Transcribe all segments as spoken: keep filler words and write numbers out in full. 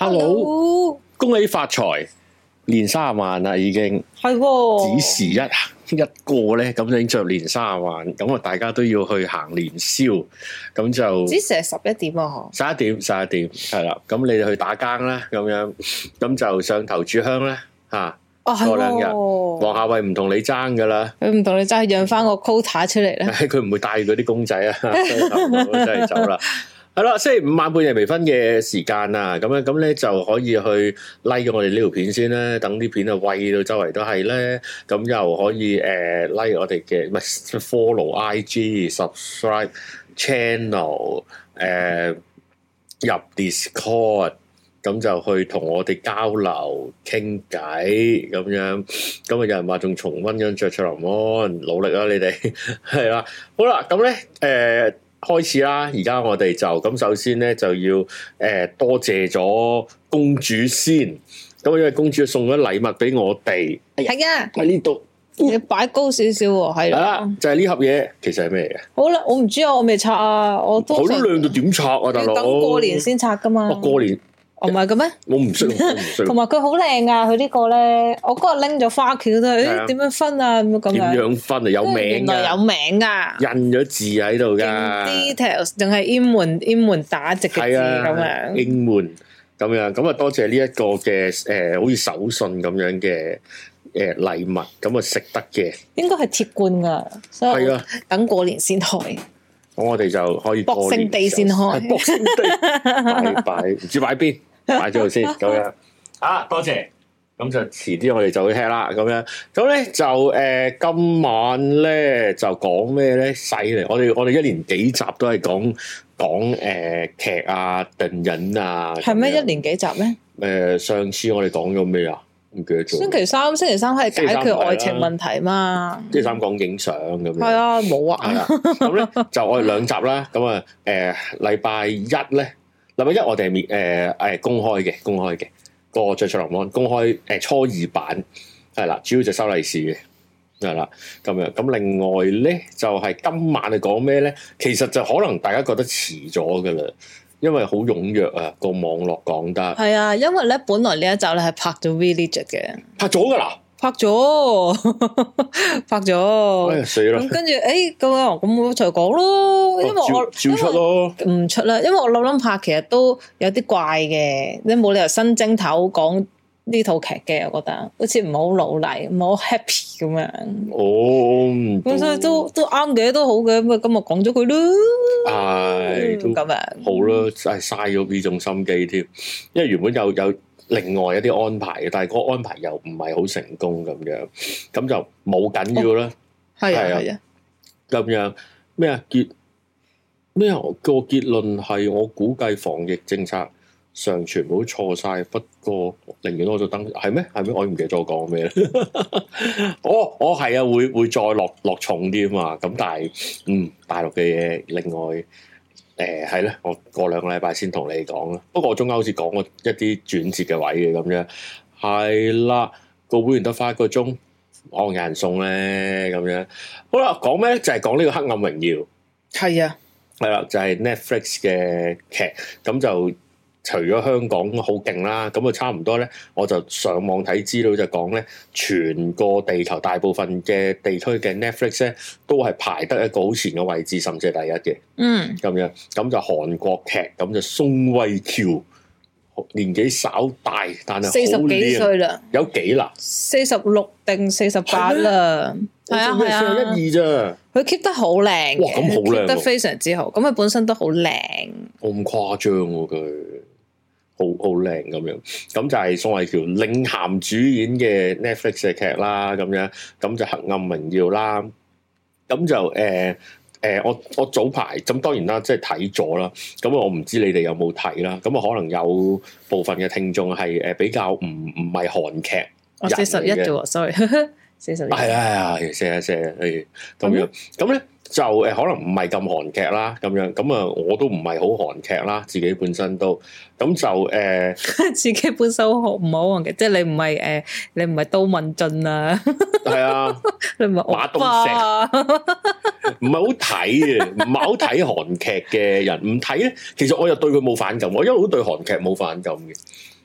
Hello，恭喜發財，年卅萬啦，已經係，只時一一個咧，咁已經着年卅萬，咁啊，大家都要去行年宵，咁就只時係十一點啊， 十一點，十一點係啦，咁你哋去打更啦，咁樣，咁就上頭炷香咧，吓， 哦係， 過兩日，黃夏蕙唔同你爭噶啦， 佢唔同你爭，讓翻個 quota 出嚟咧， 佢唔會帶嗰啲公仔啊，真係走啦。係啦，星期五晚半夜微醺嘅時間啊，咁樣咁咧就可以去 like 咗我哋呢條片先啦，等啲片啊喂到周圍都係咧，咁又可以誒、呃、like 我哋嘅唔係 follow I G、subscribe channel，誒、呃、入 Discord，咁就去同我哋交流傾偈咁樣，咁啊有人話仲重溫緊雀雀林安，努力啦你哋，係啦，好啦，咁咧誒。呃開始啦！而家我哋就咁，首先咧就要誒、呃、多謝咗公主先。咁因為公主送咗禮物俾我哋， 係啊， 喺呢度你擺高少少喎，係啦，就係、是、呢盒嘢，其實係咩嘅？ 好啦，我唔知啊，我未拆啊，我都好靚到點拆啊，大佬！ 等過年先拆噶嘛。 我過年。 唔係嘅咩？ 我唔識， 同埋佢好靚啊！佢呢個咧，我嗰日拎咗花轎都係，誒點樣分啊？咁樣點樣分啊？有名， 原來有名啊！ 印咗字喺度噶 ，details 仲係英文英文打直嘅字咁樣， 英文咁樣咁啊！多謝呢一個嘅誒，好似手信咁樣嘅誒禮物，咁啊食得嘅，應該係鐵罐噶，所以等過年先開。咁我哋就可以過年地先開，博聖地擺擺唔知擺邊。擺咗度先，咁樣啊，多謝，咁就遲啲我哋就會聽啦，咁樣，咁咧就誒、呃、今晚咧就講咩咧？犀利，我哋我哋一年幾集都係講講誒劇啊、電影啊，係咩？一年幾集咩？誒、呃，上次我哋講咗咩啊？唔記得咗。星期三，星期三係解決愛情問題嘛？星期三講影相咁樣。係啊，冇啊。係啊，咁咧就我哋兩集啦，咁啊誒禮拜一咧。禮拜一我哋係面誒誒公開嘅，公開嘅個雀雀林安公開誒、呃、初二版係啦，主要就收利是嘅係啦咁樣。咁另外咧就係、是、今晚係講咩咧？其實就可能大家覺得遲咗噶啦，因為好踴躍啊個網絡講得係啊，因為咧本來呢一集咧係拍咗 Village 嘅，拍咗噶啦。拍咗，拍咗，哎呀死啦！咁跟住，誒，咁啊，咁我就講咯，因為我照出咯，唔出啦，因為我諗諗拍，其實都有啲怪嘅，你冇理由新正頭講呢套劇嘅，我覺得好似唔係好努力，唔係好 happy 咁樣。哦，咁所以都都啱嘅，都好嘅，咁啊今日講咗佢咯，係都咁樣，好啦，真係嘥咗呢種心機添，因為原本有有。另外一啲安排嘅，但係嗰個安排又唔係好成功咁樣，咁就冇緊要啦。係、哦、啊，係啊，咁樣咩啊結咩啊個結論係我估計防疫政策上全部都錯晒，不過寧願我就登係咩係咩？我唔記得咗我講咩啦。我我係啊，會會再落落重啲啊嘛。咁但係嗯大陸嘅嘢另外。誒係咧，我過兩個禮拜先同你講啦。不過我中間好似講過一啲轉折嘅位嘅咁樣，係啦。個會員得翻一個鐘，我有人送咧咁樣。好啦，講咩咧？就係講呢個《黑暗榮耀》。係啊，係啦，就係 Netflix 嘅劇，咁就。除咗香港好勁啦，咁啊差唔多咧，我就上網睇資料就講咧，全個地球大部分嘅地區嘅 Netflix 咧，都係排得一個好前嘅位置，甚至係第一嘅。嗯，咁樣咁就韓國劇，咁就宋慧喬年紀稍大，但係四十幾歲啦，有幾啦？四十六定四十八啦，係啊係啊，一二咋？佢 keep 得好靚，哇咁好靚，keep 得非常之好。咁佢本身都好靚，咁誇張喎佢。好好靚咁樣，咁就係宋慧喬領銜主演嘅 Netflix 嘅劇啦，咁樣咁就《黑暗榮耀》啦，咁就誒誒、呃呃，我我早排咁當然啦，即係睇咗啦，咁我唔知你哋有冇睇啦，咁啊可能有部分嘅聽眾係誒比較唔唔係韓劇，我四十一啫喎，sorry，四十一，係啊係啊，四啊四啊，係咁樣，咁咧。就誒可能唔係咁韓劇啦，咁樣咁啊，我都唔係好韓劇啦，自己本身都咁就誒，呃、自己本身好唔好韓劇，即係你唔係誒，你唔係都敏俊啊，係啊，你唔係馬東石，唔係好睇嘅，唔係好睇韓劇嘅人唔睇咧，其實我又對佢冇反感，我一路都對韓劇冇反感嘅，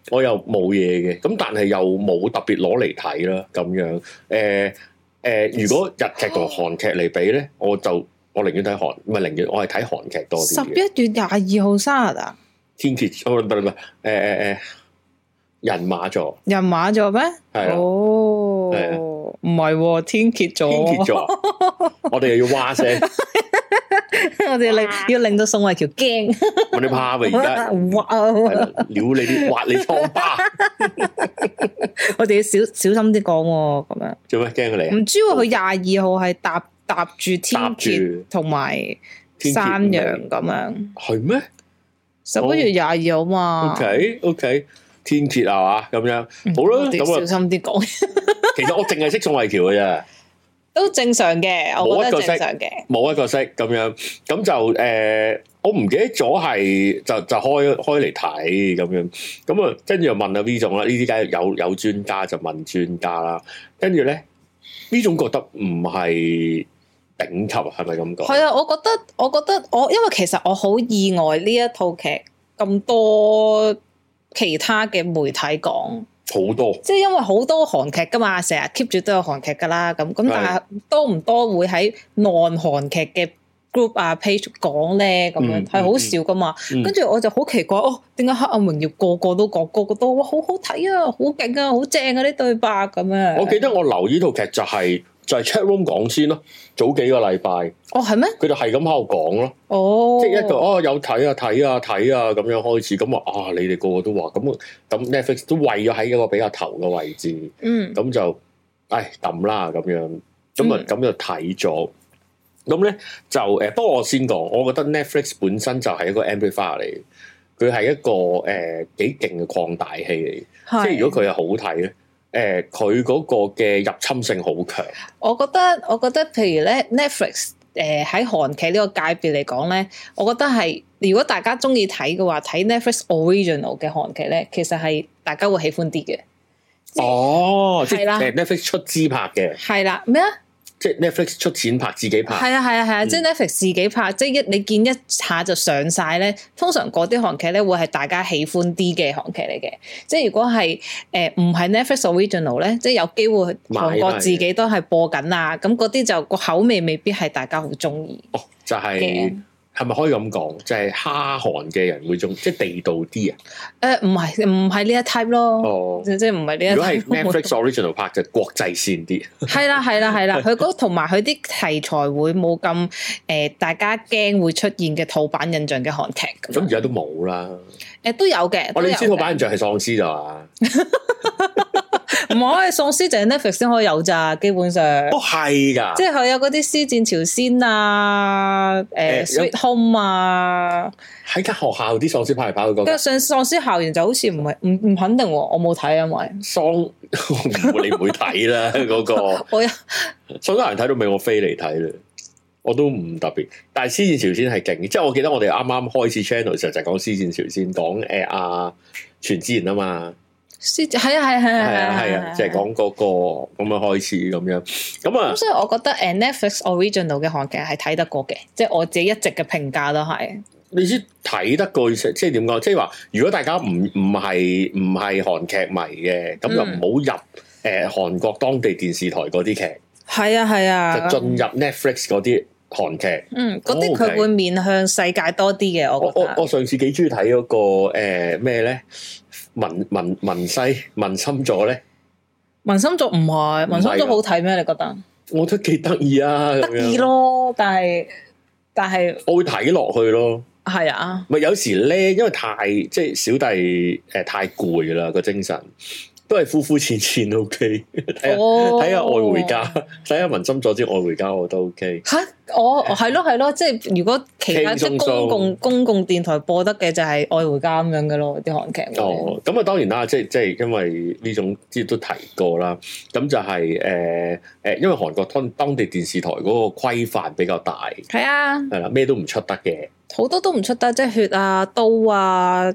我又冇嘢嘅，咁但係又冇特別攞嚟睇啦，咁樣誒誒、呃呃，如果日劇同韓劇嚟比咧，我就我寧願睇韓，唔係寧願我係睇韓劇多啲。十一月廿二號生日啊？ 天蠍，哦唔係唔係，誒誒誒，人馬座， 人馬座咩？係哦，唔係天蠍座， 天蠍座，我哋又要哇聲。 我哋令要令到宋慧喬驚， 我哋怕咪而家哇，撩你啲挖你瘡疤， 我哋要小小心啲講咁樣。做咩驚佢嚟？ 唔知佢廿二號係搭搭住天蠍同埋山羊咁樣， 係咩？ 十一月廿二號嘛。 OK OK， 天蠍係嘛咁樣，好啦，咁小心啲講。 其實我淨係識宋慧喬嘅啫。都正常嘅，我覺得正常嘅， 冇一個識咁樣，咁就誒、呃，我唔記得咗係就就開開嚟睇咁樣，咁啊跟住又問下 V 總啦，呢啲梗係有有專家就問專家啦，跟住咧 V 總覺得唔係頂級，係咪咁講？係啊，我覺得我覺得我因為其實我好意外呢一套劇咁多其他嘅媒體講。 好多， 即係因為好多韓劇噶嘛，成日 keep 住都有韓劇噶啦，咁咁但係多唔多會喺 non 韓劇嘅 group 啊 page 講咧，咁樣係好少噶嘛。跟住、嗯嗯、我就好奇怪，哦，點解黑暗榮耀個個都講，個個都哇好好睇啊，好勁啊，好正啊啲對白咁樣。 我記得我留意套劇就係、是。就係 chat room 講先咯，早幾個禮拜。 哦，係咩？ 佢就係咁喺度講咯。哦，即係一個哦，有睇啊，睇啊，睇啊，咁樣開始。咁啊，啊，你哋個個都話咁，咁 Netflix 都為咗喺一個比較頭嘅位置。嗯。咁就，唉，抌啦咁樣。咁啊，咁、嗯、就睇咗。咁咧就誒，不過我先講，我覺得 Netflix 本身就係一個 amplifier 嚟，佢係一個誒幾勁嘅擴大器嚟。係。即係如果佢係好睇咧。誒，佢嗰、呃、個嘅入侵性好強。 我覺得，我覺得，譬如咧，Netflix 誒喺韓劇呢個界別嚟講咧，我覺得係如果大家中意睇嘅話，睇 Netflix original 嘅韓劇咧，其實係大家會喜歡啲嘅。 哦，係啦，Netflix 出資拍嘅。 係啦，咩啊？ 即係 Netflix 出錢拍，自己拍。係啊係啊係啊，即係 Netflix 自己拍，即係一你見一下就上晒咧。通常嗰啲韓劇咧會係大家喜歡啲嘅韓劇嚟嘅。即係如果係誒唔係 Netflix original 咧，即係有機會韓國自己都係播緊啊。咁嗰啲就個口味未必係大家好中意。 哦，就係、是。係咪可以咁講？就係哈韓嘅人會中，即係地道啲啊？誒，唔係唔係呢一 type 咯。哦，即係唔係呢一 type。如果係 Netflix original 拍就國際線啲。係啦係啦係啦，佢嗰同埋佢啲題材會冇咁誒，大家驚會出現嘅套版印象嘅韓劇。咁而家都冇啦。誒，都有嘅。我哋知套版印象係喪屍咋嘛？唔係喪屍就係 Netflix 先可以有咋，基本上。哦，係噶，即係佢有嗰啲屍戰朝鮮啊，誒、呃、Sweet Home 啊，喺間學校啲喪屍跑嚟跑去嗰個。上喪屍校園就好似唔係唔唔肯定，我冇睇，因為喪你唔會睇啦嗰個。我有所有人睇到尾，我飛嚟睇啦，我都唔特別。但係屍戰朝鮮係勁，即係我記得我哋啱啱開始 channel 嘅時候就係講屍戰朝鮮，講誒阿全智賢啊嘛。係啊係啊係啊係啊，即係講嗰個咁樣開始咁樣咁啊。咁所以我覺得誒 Netflix original 嘅韓劇係睇得過嘅，即係我自己一直嘅評價都係。你知睇得過即係點講？即係話如果大家唔唔係唔係韓劇迷嘅，咁就唔好入誒韓國當地電視台嗰啲劇。係啊係啊，就進入 Netflix 嗰啲韓劇。嗯，嗰啲佢會面向世界多啲嘅。我我我上次幾中意睇嗰個誒咩咧？文文文西文心座咧，文心座唔係文心座好睇咩？你覺得？我覺得幾得意啊，得意咯，但係但係我會睇落去咯。係啊，咪有時咧，因為太即係小弟誒、呃、太攰啦個精神。都係膚膚淺淺 OK，睇下睇下愛回家，睇下文心佐之愛回家我都 OK。吓，我係咯係咯，即係如果其他即係公共公共電台播得嘅就係愛回家咁樣嘅咯，啲韓劇。哦，咁啊當然啦，即係即係因為呢種之前都提過啦，咁就係誒誒，因為韓國當當地電視台嗰個規範比較大，係啊，係啦，咩都唔出得嘅，好多都唔出得，即係血啊、刀啊。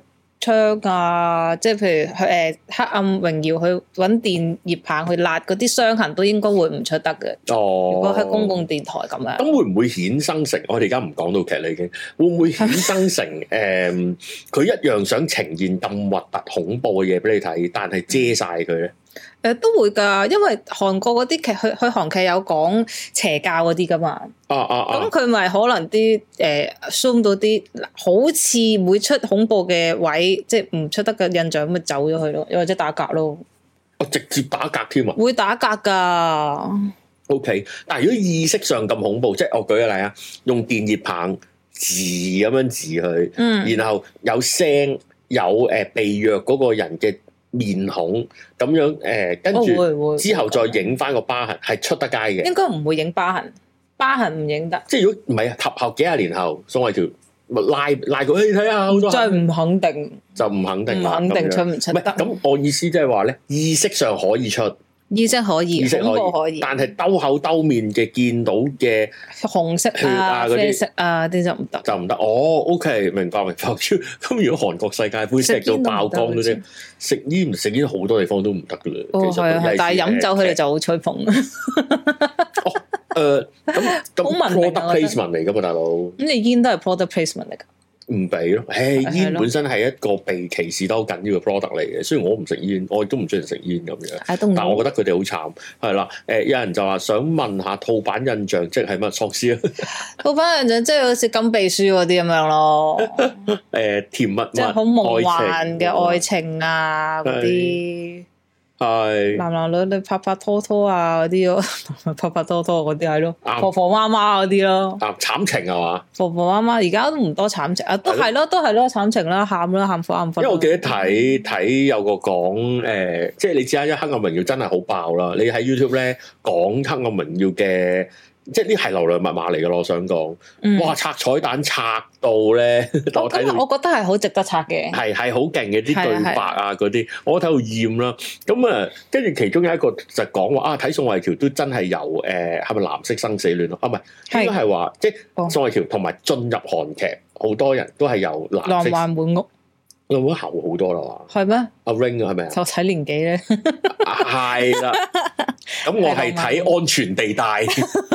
槍啊，即係譬如佢誒、呃、黑暗榮耀去揾電熱棒去辣嗰啲傷痕，都應該會唔出得嘅。哦，如果喺公共電台咁樣， 咁會唔會衍生成？我哋而家唔講到劇啦，已經會唔會衍生成誒？佢、呃、一樣想呈現咁核突恐怖嘅嘢俾你睇，但係遮晒佢咧？ 誒、呃，都會噶，因為韓國嗰啲劇，佢佢韓劇有講邪教嗰啲噶嘛。啊啊啊！咁佢咪可能啲誒 zoom 到啲好似會出恐怖嘅位，即係唔出得嘅印象，咁咪走咗去咯，又或者打格咯。 我、啊、直接打格添啊！ 會打格噶。 O、okay, K， 但係如果意識上咁恐怖，即係我舉個例啊，用電熱棒治咁樣治佢，嗯，然後有聲有誒、呃、被虐嗰個人嘅面孔咁樣誒，跟、呃、住之後再影翻個疤痕，係出得街嘅。應該唔會影疤痕，疤痕唔影得。即係如果唔係啊，及後幾廿年後，宋慧喬拉拉佢去睇下，好多就唔肯定，就唔肯定，唔肯定出唔出得。咁我意思即係話咧，意識上可以出。意識可以，意識可以，可以，但係兜口兜面嘅見到嘅紅色啊、啡色啊啲就唔得，就唔得。哦 ，OK，明白明白。咁如果韓國世界盃食到爆光嗰啲，食煙唔食煙好多地方都唔得噶啦。哦，係啊，但係飲酒佢哋就好吹捧。哦，誒，咁咁 product placement 嚟噶嘛，大佬。咁你煙都係 product placement 嚟噶。唔俾咯，誒，煙本身係一個被歧視得好緊要嘅 product 嚟嘅。雖然我唔食煙，我亦都唔中意食煙咁樣，但係我覺得佢哋好慘。係啦，誒，有人就話想問下套版印象即係乜喪屍啊？套版印象即係好似金秘書嗰啲咁樣咯。誒，甜蜜蜜，即係好夢幻嘅愛情啊嗰啲。係男男女女拍拍拖拖啊嗰啲咯，拍拍拖拖嗰啲係咯，婆婆媽媽嗰啲咯，啊慘情係嘛？婆婆媽媽而家都唔多慘情啊，都係咯，都係咯慘情啦，喊啦，喊苦喊忽。因為我記得睇睇有個講誒，即係你知啦，因為黑暗榮耀真係好爆啦，你喺 YouTube 咧講黑暗榮耀嘅。即係呢係流量密碼嚟嘅咯，我想講，嗯、哇拆彩蛋拆到咧，我睇到我覺得係好值得拆嘅，係係好勁嘅啲對白啊嗰啲，我睇到厭啦。咁啊，跟住其中有一個就講話啊，睇宋慧喬都真係由誒係咪藍色生死戀咯？啊唔係，應該係話即係宋慧喬同埋進入韓劇，好多人都係由藍色浪漫滿屋。有冇後好多啦？係咩？阿 Ring 係咪啊？就睇年紀咧，係啦。咁我係睇安全地帶，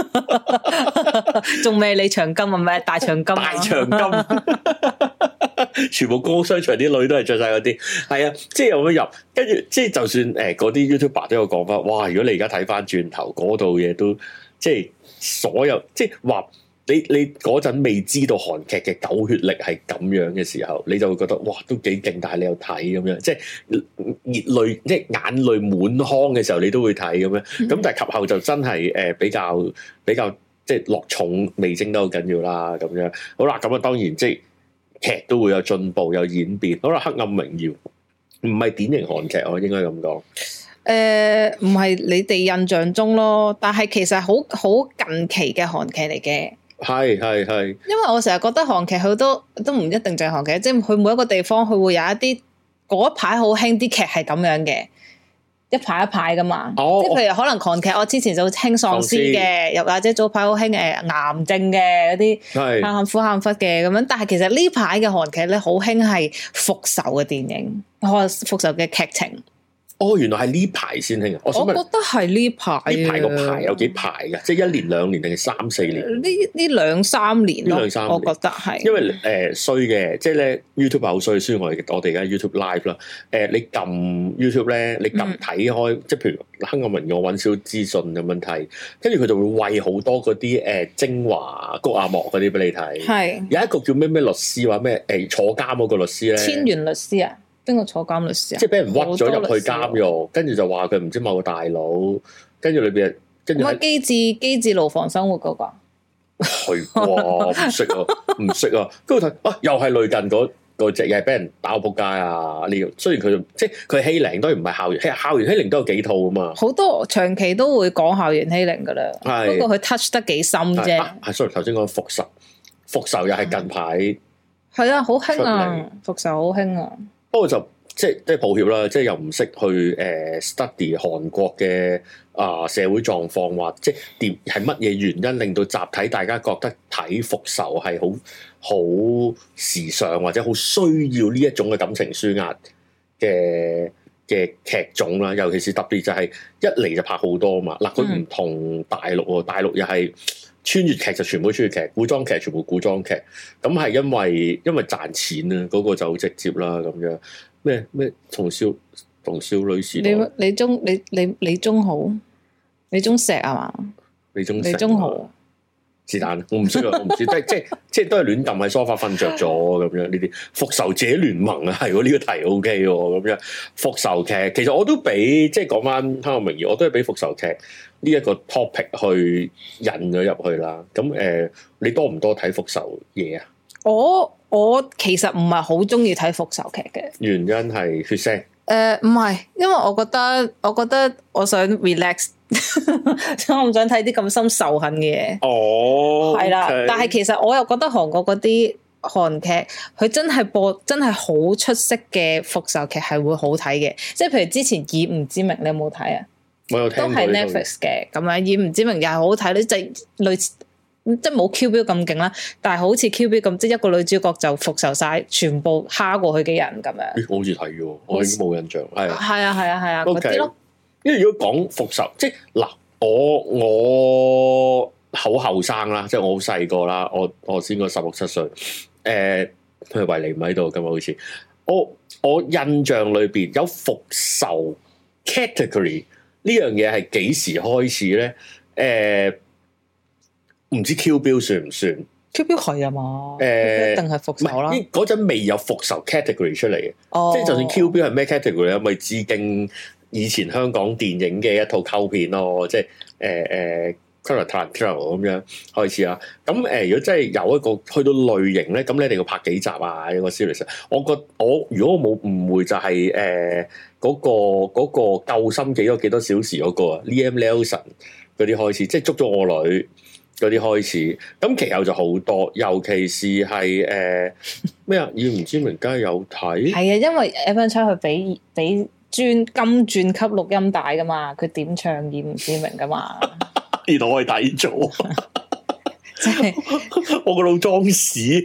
仲未你長金啊？咩大長金？大長金，全部高商場啲女都係着晒嗰啲，係啊，即係有乜入？跟住即係就算誒嗰啲 YouTuber 都有講翻，哇！如果你而家睇翻轉頭嗰度嘢都即係所有即係話。你你嗰陣未知道韓劇嘅狗血力係咁樣嘅時候，你就會覺得哇都幾勁，但係你又睇咁樣，即係熱淚即係眼淚滿腔嘅時候，你都會睇咁樣。咁、嗯、但係及後就真係誒、呃、比較比較即係落重味精都好緊要啦咁樣。好啦，咁啊當然即係劇都會有進步有演變。好啦，黑暗榮耀唔係典型韓劇，我應該咁講。誒唔係你哋印象中咯，但係其實好好近期嘅韓劇嚟嘅。係係係，因為我成日覺得韓劇好多都唔一定就係韓劇，即係佢每一個地方佢會有一啲嗰一排好興啲劇係咁樣嘅，一排一排噶嘛。哦、即係譬如可能韓劇，我之前就興喪屍嘅，又或者早排好興誒癌症嘅嗰啲，喊喊苦喊忽嘅咁樣。但係其實呢排嘅韓劇咧，好興係復仇嘅電影，復仇嘅劇情。哦，原來係呢排先興啊！我覺得係呢排，呢排個排有幾排㗎？即係一年兩年定係三四年？呢呢兩三年咯，兩三年我覺得係。因為誒衰嘅，即係咧 YouTube 好衰，雖然我哋我哋而家 YouTube Live 啦。誒、呃，你撳 YouTube 咧，你撳睇開，嗯、即係譬如黑暗榮耀，我揾少資訊咁樣睇，跟住佢就會餵好多嗰啲誒精華谷阿莫嗰啲俾你睇。係有一個叫咩咩律師話咩誒坐監嗰個律師咧，千元律師啊。邊個坐監律師啊？即係俾人屈咗入去監獄，跟住就話佢唔知某個大佬，跟住裏邊跟住喺機智機智牢房生活嗰、那個，係啩？唔識啊，唔識啊，跟住睇啊，又係類近嗰嗰隻，又係俾人打到仆街啊！呢個雖然佢即係佢欺凌，當然唔係校園，校園欺凌都有幾套啊嘛。好多長期都會講校園欺凌噶啦，係不過佢 touch 得幾深啫。係 sorry，頭先講復仇，復仇又係近排係啊，好興啊，復仇好興啊。不過就即係即係抱歉啦，即係又唔識去誒、呃、study 韓國嘅啊、呃、社會狀況，或即係點係乜嘢原因令到集體大家覺得睇復仇係好好時尚或者好需要呢一種嘅感情抒壓嘅嘅劇種啦，尤其是特別就係一嚟就拍好多嘛。嗱，佢唔同大陸喎，大陸又係穿越劇就全部穿越劇，古裝劇全部古裝劇，咁係因為因為賺錢啊，嗰、那個就好直接啦咁樣。咩咩同少同少女時代， 你你中你你李宗豪，李宗石啊嘛？ 李宗李宗豪是但，我唔識啊，我唔知，即係即係即係都係亂撳喺梳化瞓着咗咁樣。呢啲復仇者聯盟啊，係喎，呢個題 O K 喎咁樣。復仇劇其實我都俾即係講翻《香港名義》，我都係俾復仇劇呢一個 topic 去引咗入去啦。咁誒、呃，你多唔多睇復仇嘢啊？ 我我其實唔係好中意睇復仇劇嘅，原因係血腥。 誒唔係，因為我覺得我覺得我想 relax，我唔想睇啲咁深仇恨嘅嘢。哦，係啦，但係其實我又覺得韓國嗰啲韓劇，佢真係播真係好出色嘅復仇劇係會好睇嘅，即係譬如之前《以吾之名》，你有冇睇啊？ 我有聽過，都係 Netflix 嘅咁樣，《以吾之名》又係好睇咧，就係類似。即係冇 Q 標咁勁啦，但係好似 Q 標咁，即係一個女主角就復仇晒全部蝦過去嘅人咁樣。 我好似睇咗，我已經冇印象。係係啊係啊係啊嗰啲咯。 因為如果講復仇，即係嗱，我我好後生啦，即係我好細個啦，我我先個十六七歲。誒、呃，佢維尼唔喺度，今日好似我我印象裏邊有復仇 category 呢樣嘢係幾時開始咧？誒、呃。唔知 Q 標算唔算 ？Q 標係啊嘛，誒、 欸， 一定係復仇啦。 嗰陣未有復仇 category 出嚟嘅， 哦、 即係就算 Q 標係咩 category 咧，咪致敬以前香港電影嘅一套溝片咯，即係誒誒 Quentin Tarantino 咁樣開始啊。咁誒、呃，如果真係有一個去到類型咧，咁你一定要拍幾集啊？一個 series。我覺我如果我冇誤會就係誒嗰個嗰、嗰個救心幾多幾多小時嗰、嗰個啊 Liam Neeson 嗰啲開始，即係捉咗我女。嗰啲開始，咁其後就好多，尤其是係誒咩啊？以吾之名梗係有睇，係啊， 因為 Evan Chan 佢俾俾專金鑽級錄音帶噶嘛，佢點唱以吾之名噶嘛， 原來我係睇咗，即係我個腦裝屎，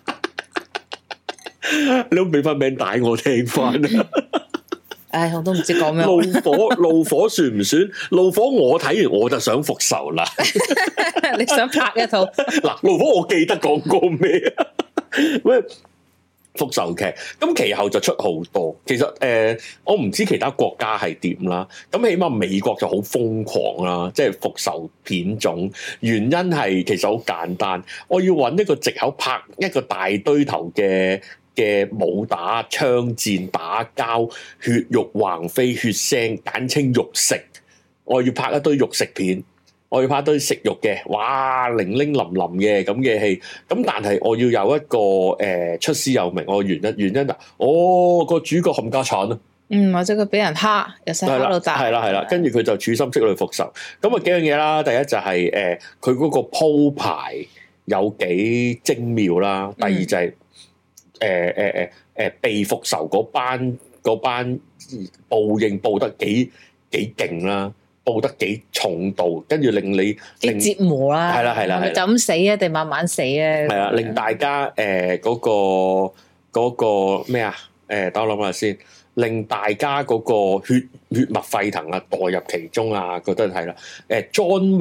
你都俾翻名帶我聽翻啊！ 唉，我都唔知講咩。 怒火，怒火算唔算？怒火我睇完我就想復仇啦。 你想拍一套？ 嗱，怒火我記得講過咩啊？咩復仇劇？咁其後就出好多。其實誒、呃，我唔知其他國家係點啦。咁起碼美國就好瘋狂啦，即係復仇片種。原因係其實好簡單，我要揾一個藉口拍一個大堆頭嘅。嘅武打、槍戰、打交、血肉橫飛、血腥，簡稱肉食。我要拍一堆肉食片，我要拍一堆食肉嘅，哇，零零淋淋嘅咁嘅戲。咁但係我要有一個誒、呃、出師有名，我原因原因啊，哦個主角冚家鏟啊， 嗯，或者佢俾人蝦，由細蝦到大， 係啦係啦，跟住佢就處心積慮復仇。咁啊幾樣嘢啦，第一就係、是、誒，佢、呃、嗰個鋪排有幾精妙啦，第二就係、是。嗯誒誒誒誒被復仇嗰班嗰班報應報得幾幾勁啦，報得幾重度，跟住令你幾折磨啦， 係啦係啦， 就咁死啊定慢慢死啊？ 係啊，令大家誒嗰個嗰個咩啊？誒，等我諗下先，令大家嗰個血血脈沸騰啊，代入其中啊，覺得係啦。誒，John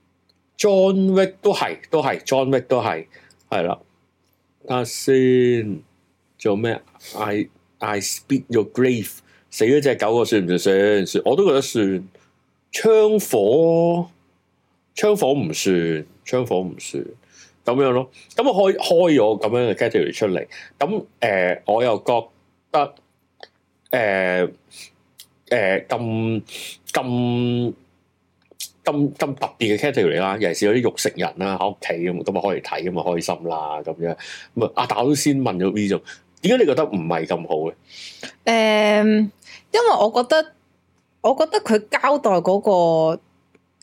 Wick，John Wick 都係都係，John Wick 都係係啦。睇下先，做咩 ？I I spit your grave， 死咗隻狗個算唔算算？算，我都覺得算。槍火，槍火唔算，槍火唔算，咁樣咯。咁我開開咗咁樣嘅 category 出嚟，咁誒、呃，我又覺得誒誒咁咁。咁咁特別嘅 category 啦，尤其是有啲肉食人啦喺屋企咁，咁啊可以睇咁啊開心啦咁樣。咁啊，但我都先問咗 V 總，點解你覺得唔係咁好嘅？誒、 嗯，因為我覺得，我覺得佢交代嗰個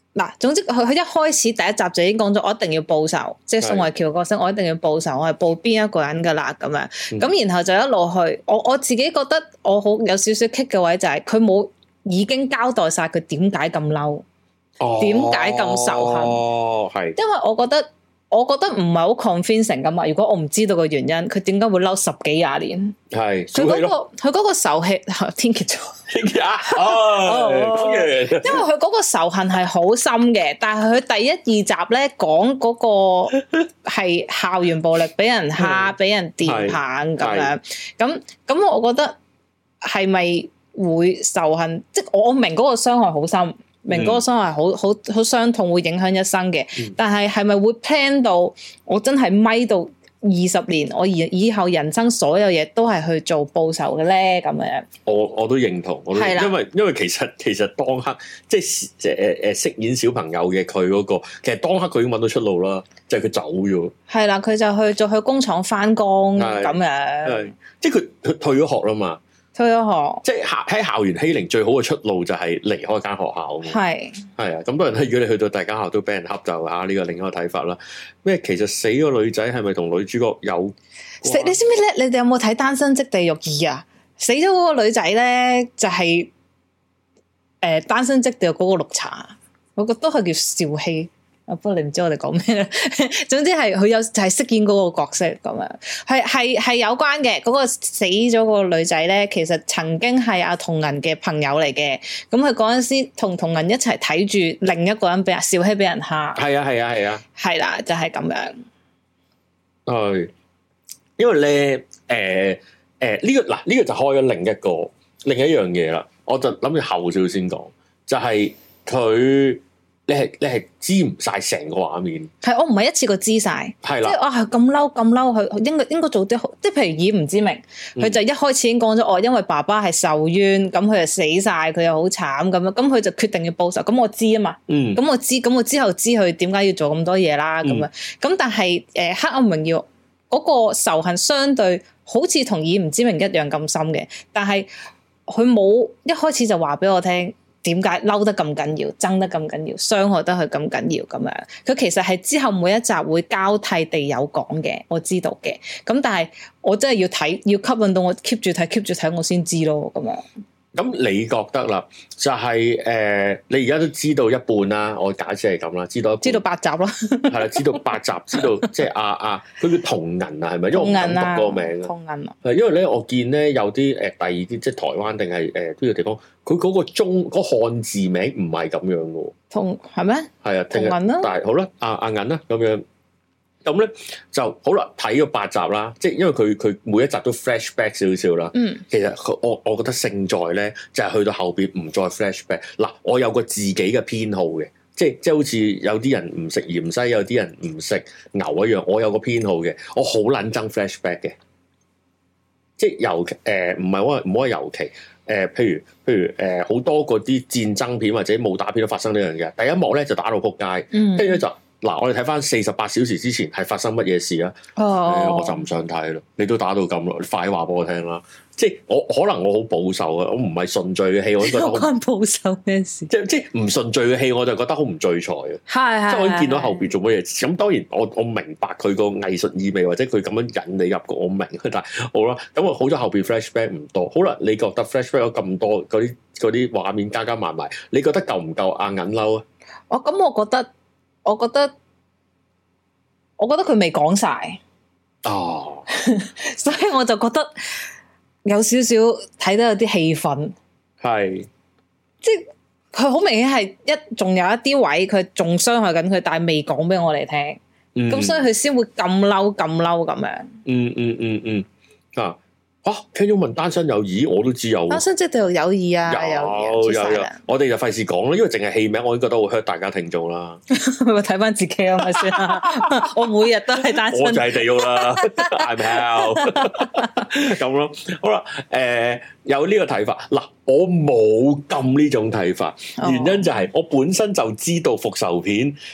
嗱，總之佢佢一開始第一集就已經講咗，我一定要報仇，即係宋慧喬角色，我一定要報仇，我係報邊一個人噶啦咁樣。咁、嗯、然後就一路去，我我自己覺得我好有少少棘嘅位就係佢冇已經交代晒佢點解咁嬲，點解咁仇恨。哦，係，因為我覺得。我覺得唔係好 convincing 噶嘛，如果我唔知道個原因，佢點解會嬲十幾廿年？係佢嗰個佢嗰個仇氣，天蠍座。天蠍啊！哦，因為佢嗰個仇恨係好深嘅，但係佢第一二集咧講嗰個係校園暴力，俾人蝦，俾人電棒咁樣。咁咁，我覺得係咪會仇恨？即係我明嗰個傷害好深。明嗰個傷害好好好傷痛，會影響一生嘅。嗯、但係係咪會 plan 到我真係咪到二十年，我以以後人生所有嘢都係去做報仇嘅咧？咁樣，我我都認同，我都認同，因為因為其實其實當刻即係誒誒飾演小朋友嘅佢嗰個，其實當刻佢已經揾到出路啦，就係、是、佢走咗。係啦，佢就去就去工廠翻工咁樣，即係佢佢退咗學啦嘛。退咗學，即係喺校園欺凌最好嘅出路就係離開間學校。係係啊，咁多人咧，如果你去到大間學校都俾人恰就啊，呢個另一個睇法啦。咩？其實死個女仔係咪同女主角有？死你知唔知咧？你哋有冇睇《單身即地獄二》啊？死咗嗰個女仔咧，就係、是、誒、呃《單身即地獄》嗰個綠茶，我覺得係叫邵希。不過你唔知我哋講咩咧，總之係佢有就係飾演嗰個角色咁樣，係係係有關嘅。嗰、嗰個死咗個女仔咧，其實曾經係阿童銀嘅朋友嚟嘅。咁佢嗰陣時同童銀一齊睇住另一個人俾阿少熙俾人蝦。係啊係啊係啊，係啦、啊啊，就係、是、咁樣。係，因為咧，誒誒呢個嗱呢、呢個就開咗另一個另一樣嘢啦。我就諗住後少先講，就係、是、佢。你係你係知唔晒成個畫面？係我唔係一次過知晒，係啦，即係我係咁嬲咁嬲，佢應該應該做啲好，即係譬如以唔知名，佢、嗯、就一開始已經講咗，哦，因為爸爸係受冤，咁佢就死晒，佢又好慘咁樣，咁佢就決定要報仇。咁我知啊嘛，嗯，咁我知，咁我之後知佢點解要做咁多嘢啦，咁、嗯、樣，咁但係誒、呃《黑暗榮耀》嗰、那個仇恨相對好似同以唔知名一樣咁深嘅，但係佢冇一開始就話俾我聽。點解嬲得咁緊要，憎得咁緊要，傷害得佢咁緊要咁樣？佢其實係之後每一集會交替地有講嘅，我知道嘅。咁但係我真係要睇，要吸引到我 keep 住睇，keep 住睇，我先知咯。咁樣。咁你覺得啦，就係、是、誒、呃，你而家都知道一半啦。我假設係咁啦，知道知道八集咯，係啦，知道八集，知道即係啊啊，佢叫童銀啊，係咪？因為我唔敢讀個名啊，童銀啊。係因為咧，我見咧有啲誒、呃、第二啲即係台灣定係誒邊個地方，佢嗰個中嗰、那個、漢字名唔係咁樣嘅。童係咩？係啊，童銀啦。但係好啦，阿阿銀啦咁樣。咁咧就好啦，睇咗八集啦，即係因為佢佢每一集都 flashback 少少啦。嗯，其實我我覺得勝在咧就係、是、去到後邊唔再 flashback。嗱，我有個自己嘅偏好嘅，即係即係好似有啲人唔食芫茜，有啲人唔食牛一樣，我有個偏好嘅，我好撚憎 flashback 嘅，即係尤其誒唔係話唔好話尤其誒、呃，譬如譬如誒好、呃、多嗰啲戰爭片或者武打片都發生呢樣嘢，第一幕咧就打到撲街，跟住咧就。嗱，我哋睇翻四十八小時之前係發生乜嘢事啊？哦、欸，我就唔想睇咯。你都打到咁咯，你快話俾我聽啦。即係我可能我好保守啊，我唔係順序嘅戲，我都覺得好關保守咩事？即係即係唔順序嘅戲，我就覺得好唔聚財啊。係係，即係我已經見到後邊做乜嘢。咁當然我我明白佢個藝術意味，或者佢咁樣引你入局，我明。但係好啦，咁我好咗後邊 flashback 唔多。好啦，你覺得 flashback 咗咁多嗰啲嗰啲畫面加加埋埋，你覺得夠唔夠阿銀嬲啊？哦，咁我覺得。我覺得，我覺得佢未講晒哦，所以我就覺得有少少睇得有啲氣憤，係，即係佢好明顯係一仲有一啲位佢仲傷害緊佢，但係未講俾我哋聽，咁、嗯、所以佢先會咁嬲咁嬲咁樣，嗯嗯嗯嗯啊。啊！聽咗問單身有意，我都知有單身即係對有意啊，有有有，有，我哋就費事講啦，因為淨係戲名，我已經覺得好 hurt 大家聽眾啦。我睇翻自己啊，咪先啦。我每日都係單身，我就係地獄啦。I'm hell 咁咯。好啦，誒、呃，有呢個睇法嗱，我冇咁呢種睇法，原因就係我本身就知道復仇片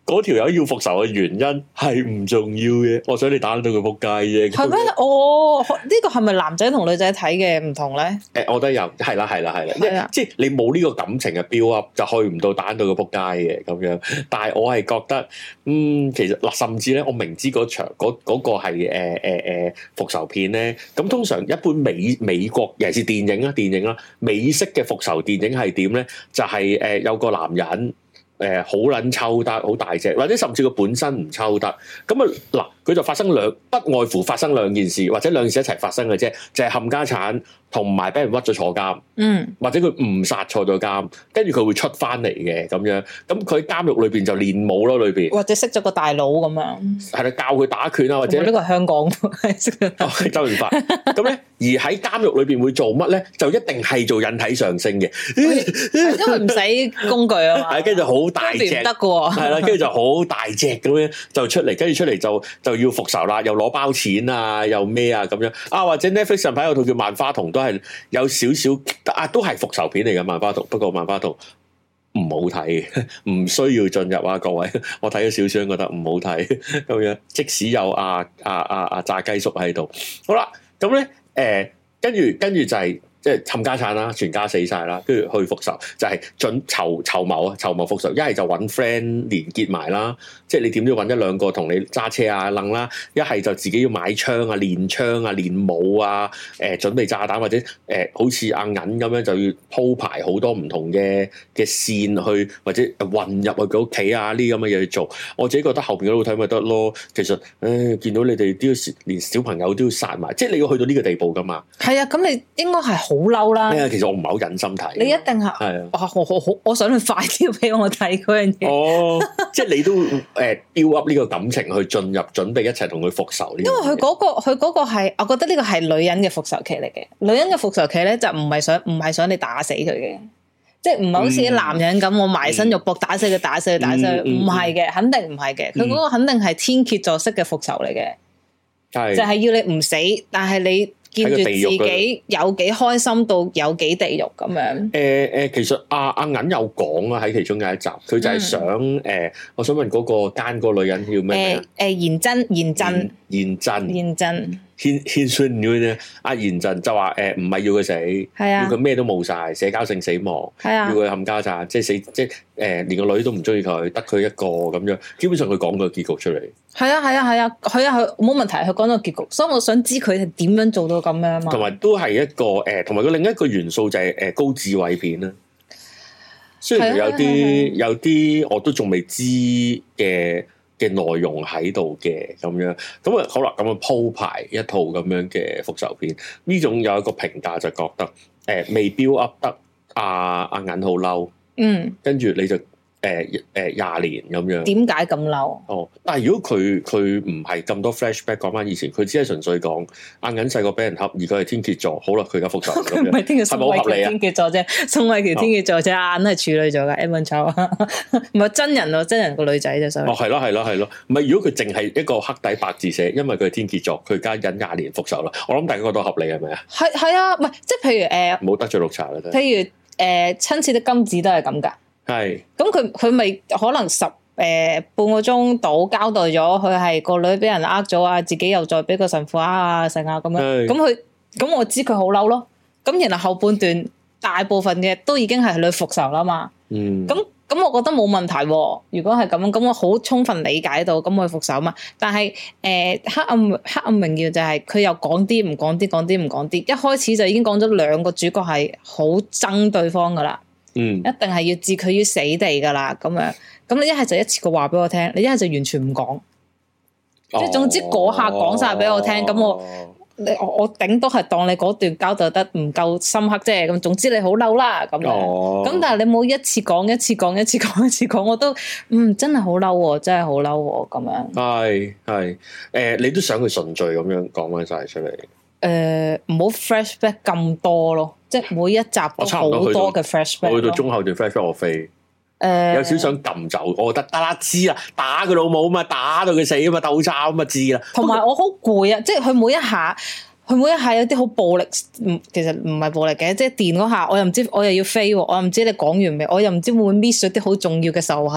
嗰條友要復仇嘅原因係唔重要嘅，我想你打到佢仆街啫。係咩？ 哦，呢個係咪男仔同女仔睇嘅唔同咧？誒、 欸，我覺得有，係啦，係啦，係啦，即係你冇呢個感情嘅 build up，就去唔到打到佢仆街嘅咁樣。但係我係覺得，嗯，其實嗱，甚至咧，我明知嗰場嗰嗰、嗰個係誒誒誒復仇片咧，咁通常一般美美國尤其是電影啦，電影啦，美式嘅復仇電影係點咧？就係、是、誒、呃、有個男人。誒好撚抽得，好大隻，或者甚至佢本身唔抽得，咁啊嗱，佢就發生兩不外乎發生兩件事，或者兩件事一齊發生嘅啫，就係、是、冚家產同埋俾人屈咗坐監，嗯，或者佢誤殺坐咗監，跟住佢會出翻嚟嘅咁樣，咁佢喺監獄裏邊就練武咯，裏邊或者識咗個大佬咁樣，係啦，教佢打拳啊，或者呢個係香港識咗、 哦、周潤發咁咧，而喺監獄裏邊會做乜咧？就一定係做引體上升嘅， 因為唔使工具啊嘛， 係跟住好大隻得嘅， 係啦，跟住就好大隻咁樣就出嚟，跟住出嚟就就要復仇啦，又攞包錢啊，又咩啊咁樣啊，或者 Netflix 上排有套叫《萬花筒》，都係有少少啊，都係復仇片嚟嘅《萬花筒》，不過《萬花筒》唔好睇，唔需要進入啊，各位，我睇咗少少，覺得唔好睇咁樣，即使有阿阿阿阿炸雞叔喺度，好啦，咁咧誒，跟住跟住就係、是。即係冚家產啦，全家死晒啦，跟住去復仇，就係、是、準籌籌謀啊，籌謀復仇。一係就揾 friend 連結埋啦，即係你點都要揾一兩個同你揸車啊、楞啦。一係就自己要買槍啊、練槍啊、練武啊，誒、呃、準備炸彈或者誒、呃、好似阿銀咁樣就要鋪排好多唔同嘅嘅線去，或者混入去佢屋企啊呢啲咁嘅嘢去做。我自己覺得後邊嗰度睇咪得咯。其實誒、哎、見到你哋都要連小朋友都要殺埋，即係你要去到呢個地步噶嘛。 係啊，咁你應該係。好嬲啦！ 係啊，其實我唔係好忍心睇。 你一定係係啊！我我我我想你快啲俾我睇嗰樣嘢。哦， 即係你都誒 build up 呢個感情去進入，準備一齊同佢復仇呢？因為佢嗰個佢嗰個係，我覺得呢個係女人嘅復仇期嚟嘅。女人嘅復仇期咧就唔係想唔係想你打死佢嘅，即係唔係好似啲男人咁，我埋身肉搏打死佢，打死佢，打死佢，唔係嘅，肯定唔係嘅。佢嗰個肯定係天蠍座式嘅復仇嚟嘅，係就係要你唔死，但係你。見住自己有幾開心到有幾地獄咁樣。誒誒、 呃呃，其實阿阿銀有講啊，喺其中有一集，佢就係想誒、嗯呃，我想問嗰個奸個女人叫咩名？誒誒， 賢真，賢真， 賢真， 賢真。 謙謙遜咗咧，阿賢陣就話誒，唔係要佢死，係啊，要佢咩都冇晒，社交性死亡，係啊，要佢冚家鏟，即係死，即係誒、呃，連個女都唔中意佢，得佢一個咁樣。基本上佢講個結局出嚟， 係啊，係啊，係啊，佢啊，佢冇問題，佢講到結局，所以我想知佢係點樣做到咁樣啊嘛。 同埋都係一個誒，同埋佢另一個元素就係誒高智慧片啦。雖然有啲有啲我都仲未知嘅。嘅內容喺度嘅咁樣，咁啊好啦，咁啊鋪排一套咁樣嘅復仇片，呢種有一個評價就覺得，誒、呃、未 build up 得阿阿銀好嬲，嗯，跟住你就。誒誒廿年咁樣， 點解咁嬲？ 哦，但係如果佢佢唔係咁多 flashback 講翻以前，佢只係純粹講阿銀細個俾人恰，而佢係天蠍座，好啦，佢而家復仇咁樣，係咪好合理啊？天蠍座啫，宋慧喬天蠍座啫，阿銀係處女座噶 Evan Chow 唔係真人咯，真人個女仔啫，所以哦係咯係咯係咯，唔係如果佢淨係一個黑底白字寫，因為佢係天蠍座，佢而家忍廿年復仇啦，我諗大家覺得合理係咪啊？係係啊，唔係即係譬如誒， 冇、呃、得罪綠茶啦， 譬如誒親切的金子都係咁噶。係，咁佢佢咪可能十誒、呃、半個鐘到交代咗，佢係個女俾人呃咗啊，自己又再俾個神父呃啊成啊咁樣，咁佢咁我知佢好嬲咯，咁然後後半段大部分嘅都已經係佢復仇啦嘛，嗯，咁咁我覺得冇問題、啊，如果係咁，咁我好充分理解到，咁佢復仇嘛，但係誒、呃、黑暗黑暗榮耀就係佢又講啲唔講啲，講啲唔講啲，一開始就已經講咗兩個主角係好憎對方噶啦。嗯，一定係要置佢於死地噶啦，咁樣，咁你一係就一次過話俾我聽，你一係就完全唔講，即係、哦、總之嗰下講晒俾我聽，咁、哦、我你我我頂多係當你嗰段交代得唔夠深刻啫，咁總之你好嬲啦，咁樣，咁、哦、但係你冇一次講一次講一次講一次講，我都嗯真係好嬲，真係好嬲咁樣。係係誒，你都想佢順序咁樣講翻晒出嚟。 誒，唔好 flashback 咁多咯，即係每一集都好多嘅 flashback。 我去到中後段 flashback 我飛，誒、呃，有少少想撳走，我覺得得啦，知啦，打佢老母啊嘛，打到佢死啊嘛，鬥抄啊嘛，知啦。同埋我好攰啊，即係佢每一下，佢每一下有啲好暴力，唔，其實唔係暴力嘅，即係電嗰下，我又唔知，我又要飛，我又唔知你講完未，我又唔知會唔會 miss 咗啲好重要嘅仇恨。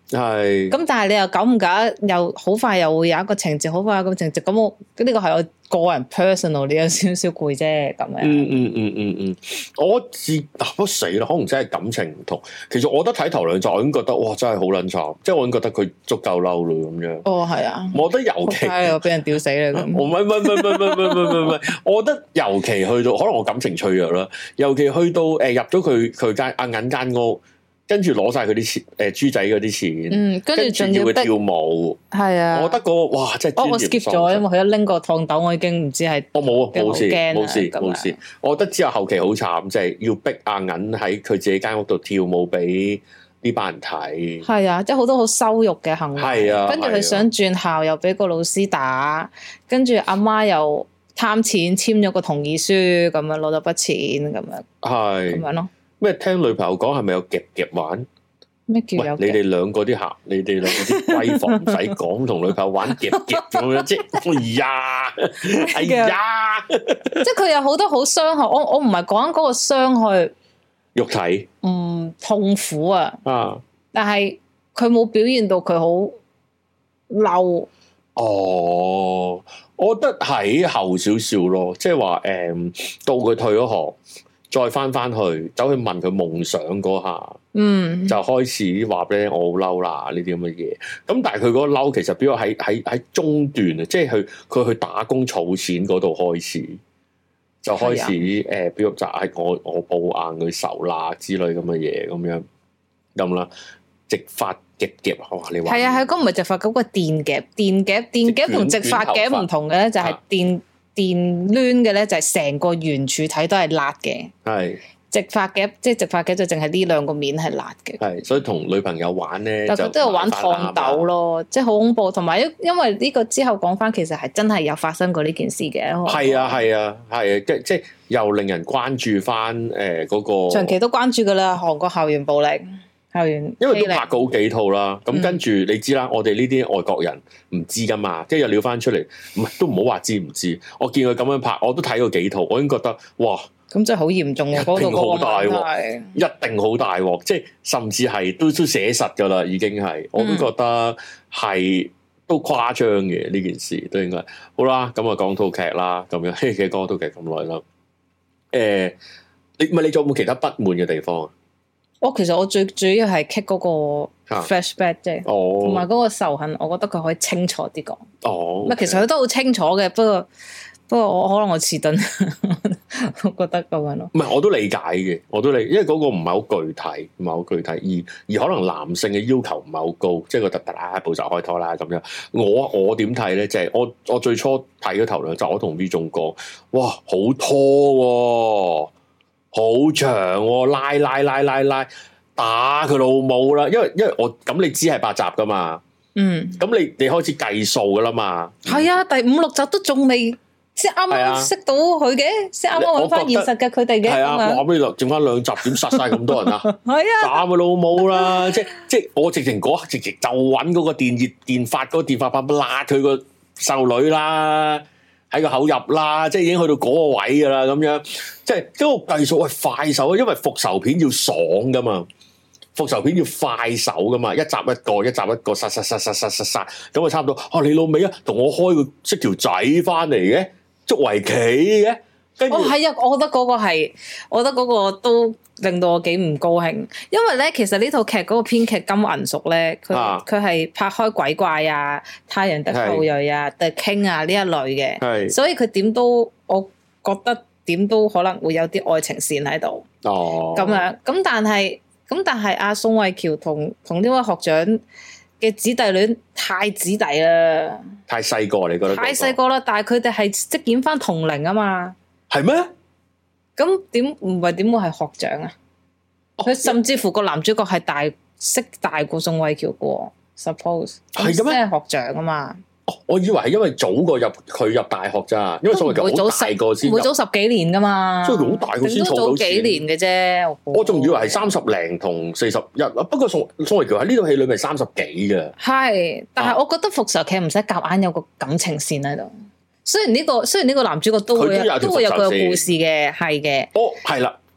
係。 咁但係你又久唔久又好快又會有一個情節，好快有個情節，咁我呢個係我個人 personal 你有少少攰啫，咁樣。 嗯嗯嗯嗯嗯，我自啊死啦，可能真係感情唔同。其實我覺得睇頭兩集，我已經覺得哇，真係好撚慘，即係我已經覺得佢足夠嬲咯咁樣。 哦，係啊， 我覺得尤其我俾人屌死啦咁。 我唔係唔係唔係唔係唔係唔係唔係，我覺得尤其去到可能我感情脆弱啦，尤其去到誒、呃、入咗佢佢間阿銀間屋。跟住攞晒佢啲錢，誒、呃、豬仔嗰啲錢，嗯，跟住仲要佢跳舞，係啊，我覺得嗰、那個哇，真係、哦、我 skip 咗，因為佢一拎個燙斗，我已經唔知係，我冇啊，冇事，冇事，冇事。我覺得之後後期好慘，即係要逼阿銀喺佢自己間屋度跳舞俾呢班人睇，係啊，即係好多好羞辱嘅行為，係啊。跟住佢想轉校，又俾個老師打，跟住阿媽又貪錢簽咗個同意書，咁樣攞咗筆錢，咁樣係咁樣咯。咩？聽女朋友講係咪有夾夾玩？咩叫有夾？你哋兩個啲客，你哋兩個啲閨房唔使講，同女朋友玩夾夾咁樣啫。哎呀，哎呀，即係佢有好多好傷害。我我唔係講緊嗰個傷害肉體，嗯，痛苦啊。啊！但係佢冇表現到佢好嬲。哦，我覺得喺後少少咯，即係話誒，到佢退咗學。再翻翻去，走去問佢夢想嗰下，嗯，就開始話俾我好嬲啦呢啲咁嘅嘢。咁但係佢嗰個嬲其實比較喺喺喺中段啊，即係佢佢去打工儲錢嗰度開始，就開始誒，比如就係我我報硬佢仇啦之類咁嘅嘢咁樣咁啦，直髮夾夾哇！你話係啊係，嗰唔係直髮，嗰個電夾電夾電夾同直髮夾唔同嘅咧，就係電。電攣嘅咧就係成個圓柱體都係辣嘅，係直髮夾即係直髮夾就淨係呢兩個面係辣嘅，係所以同女朋友玩咧，但佢都有玩燙斗咯，即係好恐怖。同埋因因為呢個之後講翻，其實係真係有發生過呢件事嘅，係啊係啊係啊，即即係又令人關注翻誒嗰個長期都關注噶啦，韓國校園暴力。校園因為都拍過好幾套啦，咁、嗯、跟住你知啦，我哋呢啲外國人唔知噶嘛，即係又撩翻出嚟，唔係都唔好話知唔知。我見佢咁樣拍，我都睇過幾套，我已經覺得哇，咁真係好嚴重啊！一定好大鑊，一定好大鑊，即係甚至係都都寫實噶啦，已經係，我都覺得係都誇張嘅呢件事，都應該好啦。咁啊，講套劇啦，咁樣其實講套劇咁耐啦。誒、呃，你唔係你仲有冇其他不滿嘅地方啊？我其實我最主要係 kick 嗰個 flashback 啫，同埋嗰個仇恨，我覺得佢可以清楚啲講。哦，唔係，其實佢都好清楚嘅，不過不過我可能我遲鈍，我覺得咁樣咯。唔係，我都理解嘅，我都理，因為嗰個唔係好具體，唔係好具體，而而可能男性嘅要求唔係好高，即係覺得得啦，步驟開拖啦咁樣。我我點睇咧？即係我我最初睇咗頭兩集，我同 V 仲講，哇，好拖喎！好長、哦，拉拉拉拉拉，打佢老母啦！因為因為我咁你知係八集噶嘛，嗯，咁你你開始計數噶啦嘛，係啊，第五六集都仲未先啱啱識到佢嘅，先啱啱揾翻現實嘅佢哋嘅，係啊，話俾你落，剩翻兩集點殺晒咁多人啊？係啊，打佢老母啦！即即我直情嗰刻直情就揾嗰個電熱電髮嗰個電髮棒辣佢個細路女啦。喺個口入啦，即係已經去到嗰個位噶啦，咁樣即係嗰個計數係快手，因為復仇片要爽噶嘛，復仇片要快手噶嘛，一集一個，一集一個，殺殺殺殺殺殺殺，咁啊差唔多。啊，你老味啊，同我開個識條仔翻嚟嘅，捉圍棋嘅。哦，係啊，我覺得嗰個係，我覺得嗰個都令到我幾唔高興，因為咧，其實呢套劇嗰個編劇金銀淑咧，佢佢係拍開鬼怪啊、太陽的後裔啊、The King 啊呢一類嘅，所以佢點都，我覺得點都可能會有啲愛情線喺度。哦，咁樣，咁但係，咁但係阿宋慧喬同同呢位學長嘅姊弟戀太姊弟啦，太細個，你覺得？太細個啦，但係佢哋係飾演翻同齡啊嘛。係咩？咁點唔係點會係學長啊？佢、哦、甚至乎個男主角係大識大過宋慧喬嘅 ，suppose 係咁咩？學長啊嘛。哦，我以為係因為早過入佢入大學咋，因為宋慧喬好大個先，會早十幾年噶嘛。所以佢好大個先儲到錢。幾年嘅啫。我仲以為係三十零同四十一，不過宋宋慧喬喺呢套戲裏面三十幾嘅。係，但係我覺得復仇劇唔使夾硬有個感情線喺度。雖然呢、這個雖然呢個男主角都會都，都會有佢嘅故事嘅，係嘅。哦，係啦，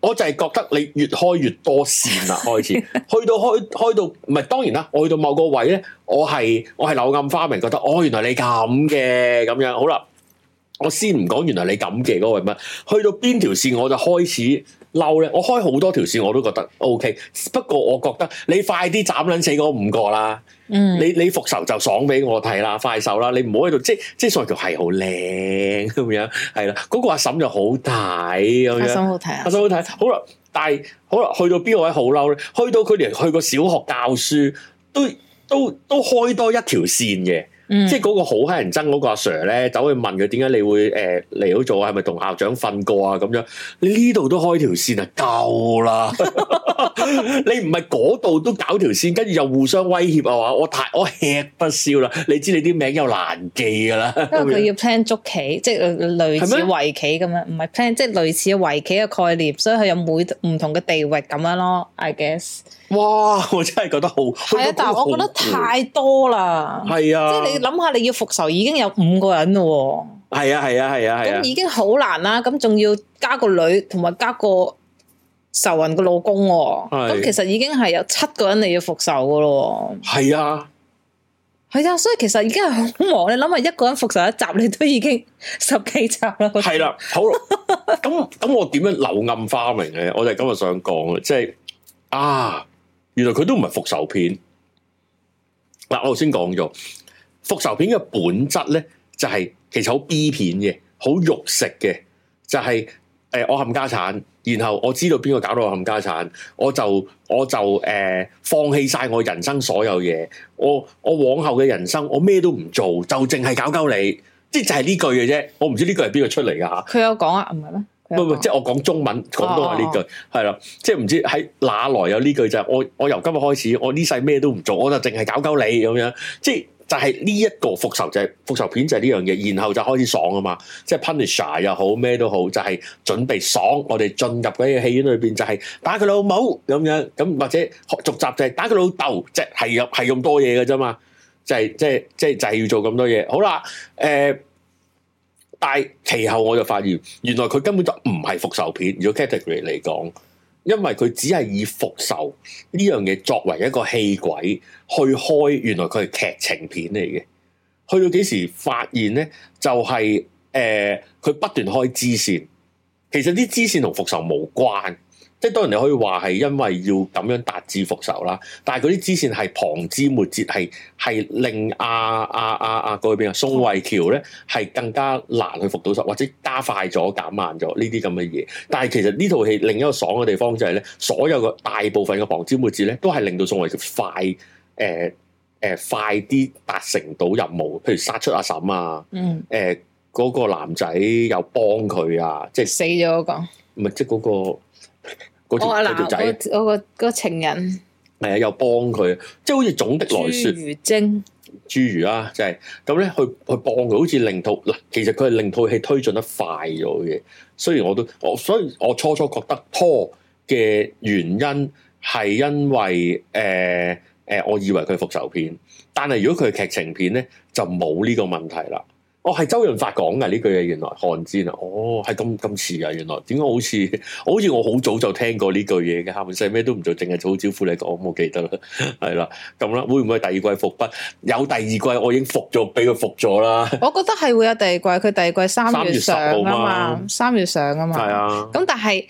我就係覺得你越開越多線啦，開始去到開開到唔係當然啦，我去到某個位咧，我係我係柳暗花明，覺得哦原來你咁嘅咁樣，好啦，我先唔講原來你咁嘅嗰個係乜，去到邊條線我就開始嬲咧，我開好多條線我都覺得 OK，不過我覺得你快啲斬撚死嗰五個啦。嗯，你你復仇就爽俾我睇啦，快手啦，你唔好喺度即即所謂叫係好靚咁樣，係啦，嗰、那個阿嬸就好睇咁樣，阿嬸好睇啊， 阿嬸好睇，好啦，但係好啦，去到邊個位好嬲咧？去到佢哋去個小學教書，都都都開多一條線嘅。嗯、即係嗰個好乞人憎嗰個阿 Sir 咧，走去問佢點解你會誒嚟到做啊？係咪同校長瞓過啊？咁樣你呢度都開條線啊，夠啦！你唔係嗰度都搞條線，跟住又互相威脅啊！話我太我吃不消啦！你知你啲名又難記噶啦， 因為佢要 plan 捉棋，即係類似圍棋咁樣，唔係 plan 即係類似圍棋嘅概念，所以佢有每唔同嘅地域咁樣咯。I guess。 哇！我真係覺得好係啊，但係我覺得太多啦。係啊，即係你諗下，你要復仇已經有五個人咯。係啊，係啊，係啊，係啊，咁已經好難啦。咁仲要加個女，同埋加個仇人嘅老公。咁其實已經係有七個人你要復仇噶咯。係啊，係啊，所以其實已經係好忙。你諗下，一個人復仇一集，你都已經十幾集啦。 係啦，好啦，咁咁我點樣柳暗花明咧？我就今日想講即係啊。原來佢都唔係復仇片嗱，我頭先講咗復仇片嘅本質咧，就係、是、其實好 B 片嘅，好肉食嘅，就係、是、誒、呃、我冚家產，然後我知道邊個搞到我冚家產，我就我就誒、呃、放棄晒我人生所有嘢，我我往後嘅人生我咩都唔做，就淨係搞鳩你，即係就係呢句嘅啫。我唔知呢句係邊個出嚟噶吓？佢有講啊，唔係咩？ 唔唔，即係我講中文，廣東話呢句係啦，即係唔知喺哪來有呢句就係我我由今日開始，我呢世咩都唔做，我就淨係搞鳩你咁樣，即係就係呢一個復仇就係、是、復仇片就係呢樣嘢，然後就開始爽啊嘛，即係 Punisher 又好咩都好，就係、是、準備爽，我哋進入嗰個戲院裏邊就係打佢老母咁樣，咁或者續集就係打佢老豆，即係係係咁多嘢嘅啫嘛，就係即係即係就係、是、要做咁多嘢，好啦，誒、呃。但係其後我就發現，原來佢根本就唔係復仇片，如果 category 嚟講，因為佢只係以復仇呢樣嘢作為一個戲軌去開，原來佢係劇情片嚟嘅。去到幾時發現咧？就係、是、誒，佢、呃、不斷開支線，其實啲支線同復仇無關。即係當然你可以話係因為要咁樣達至復仇啦，但係嗰啲支線係旁枝末節，係係令阿阿阿阿嗰邊啊宋慧喬咧係更加難去復到仇，或者加快咗減慢咗呢啲咁嘅嘢。但係其實呢套戲另一個爽嘅地方就係咧，所有嘅大部分嘅旁枝末節咧都係令到宋慧喬快誒誒、呃呃、快啲達成到任務，譬如殺出阿嬸啊，嗯誒嗰、呃嗰個男仔又幫佢啊，即係死咗嗰、嗰個， 唔係即係嗰個。嗰條我條仔， 嗰、嗰個、嗰個情人， 係啊，又幫佢，即係好似總的來說， 侏儒精， 侏儒啊，就係咁咧，去去幫佢，好似令套嗱，其實佢係令套戲推進得快咗嘅。雖然我都我，所以我初初覺得拖嘅原因係因為誒誒、呃呃，我以為佢係復仇片，但係如果佢係劇情片咧，就冇呢個問題啦。哦，係周潤發講嘅呢句嘢，原來寒戰啊，哦，係咁咁似啊，原來點解好似好似我好早就聽過呢句嘢嘅，下半世咩都唔做，淨係做好招呼你講，我冇記得啦，係啦，咁啦，會唔會第二季復筆？有第二季，我已經復咗，俾佢復咗啦。 我覺得係會有第二季，佢第二季三月上啊嘛，三月上啊嘛，係啊。咁但係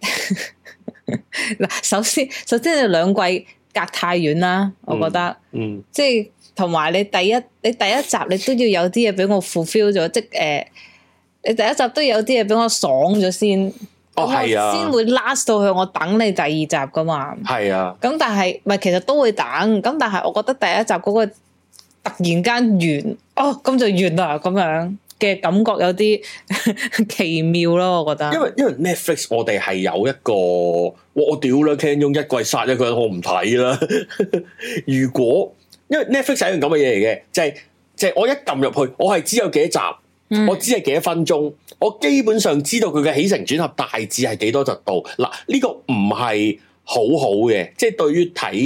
嗱，首先首先你兩季隔太遠啦，我覺得，嗯，嗯即係。同埋你第一你第一集你都要有啲嘢俾我 fulfill 咗，即係誒、呃，你第一集都有啲嘢俾我爽咗先，哦係啊，先會 last 到去我等你第二集噶嘛，係啊，咁但係唔係其實都會等，咁但係我覺得第一集嗰個突然間完，哦咁就完啦咁樣嘅感覺有啲奇妙咯，我覺得。因為因為 Netflix 我哋係有一個，我屌啦 Ken 用一季殺一個人，我唔睇啦，如果。因為 Netflix 係一樣咁嘅嘢嚟嘅，就係、是、就係、是、我一撳入去，我係知有幾多集，嗯、我知係幾多分鐘，我基本上知道佢嘅起承轉合大致係幾多集度。嗱，呢、這個唔係好好嘅，即係對於睇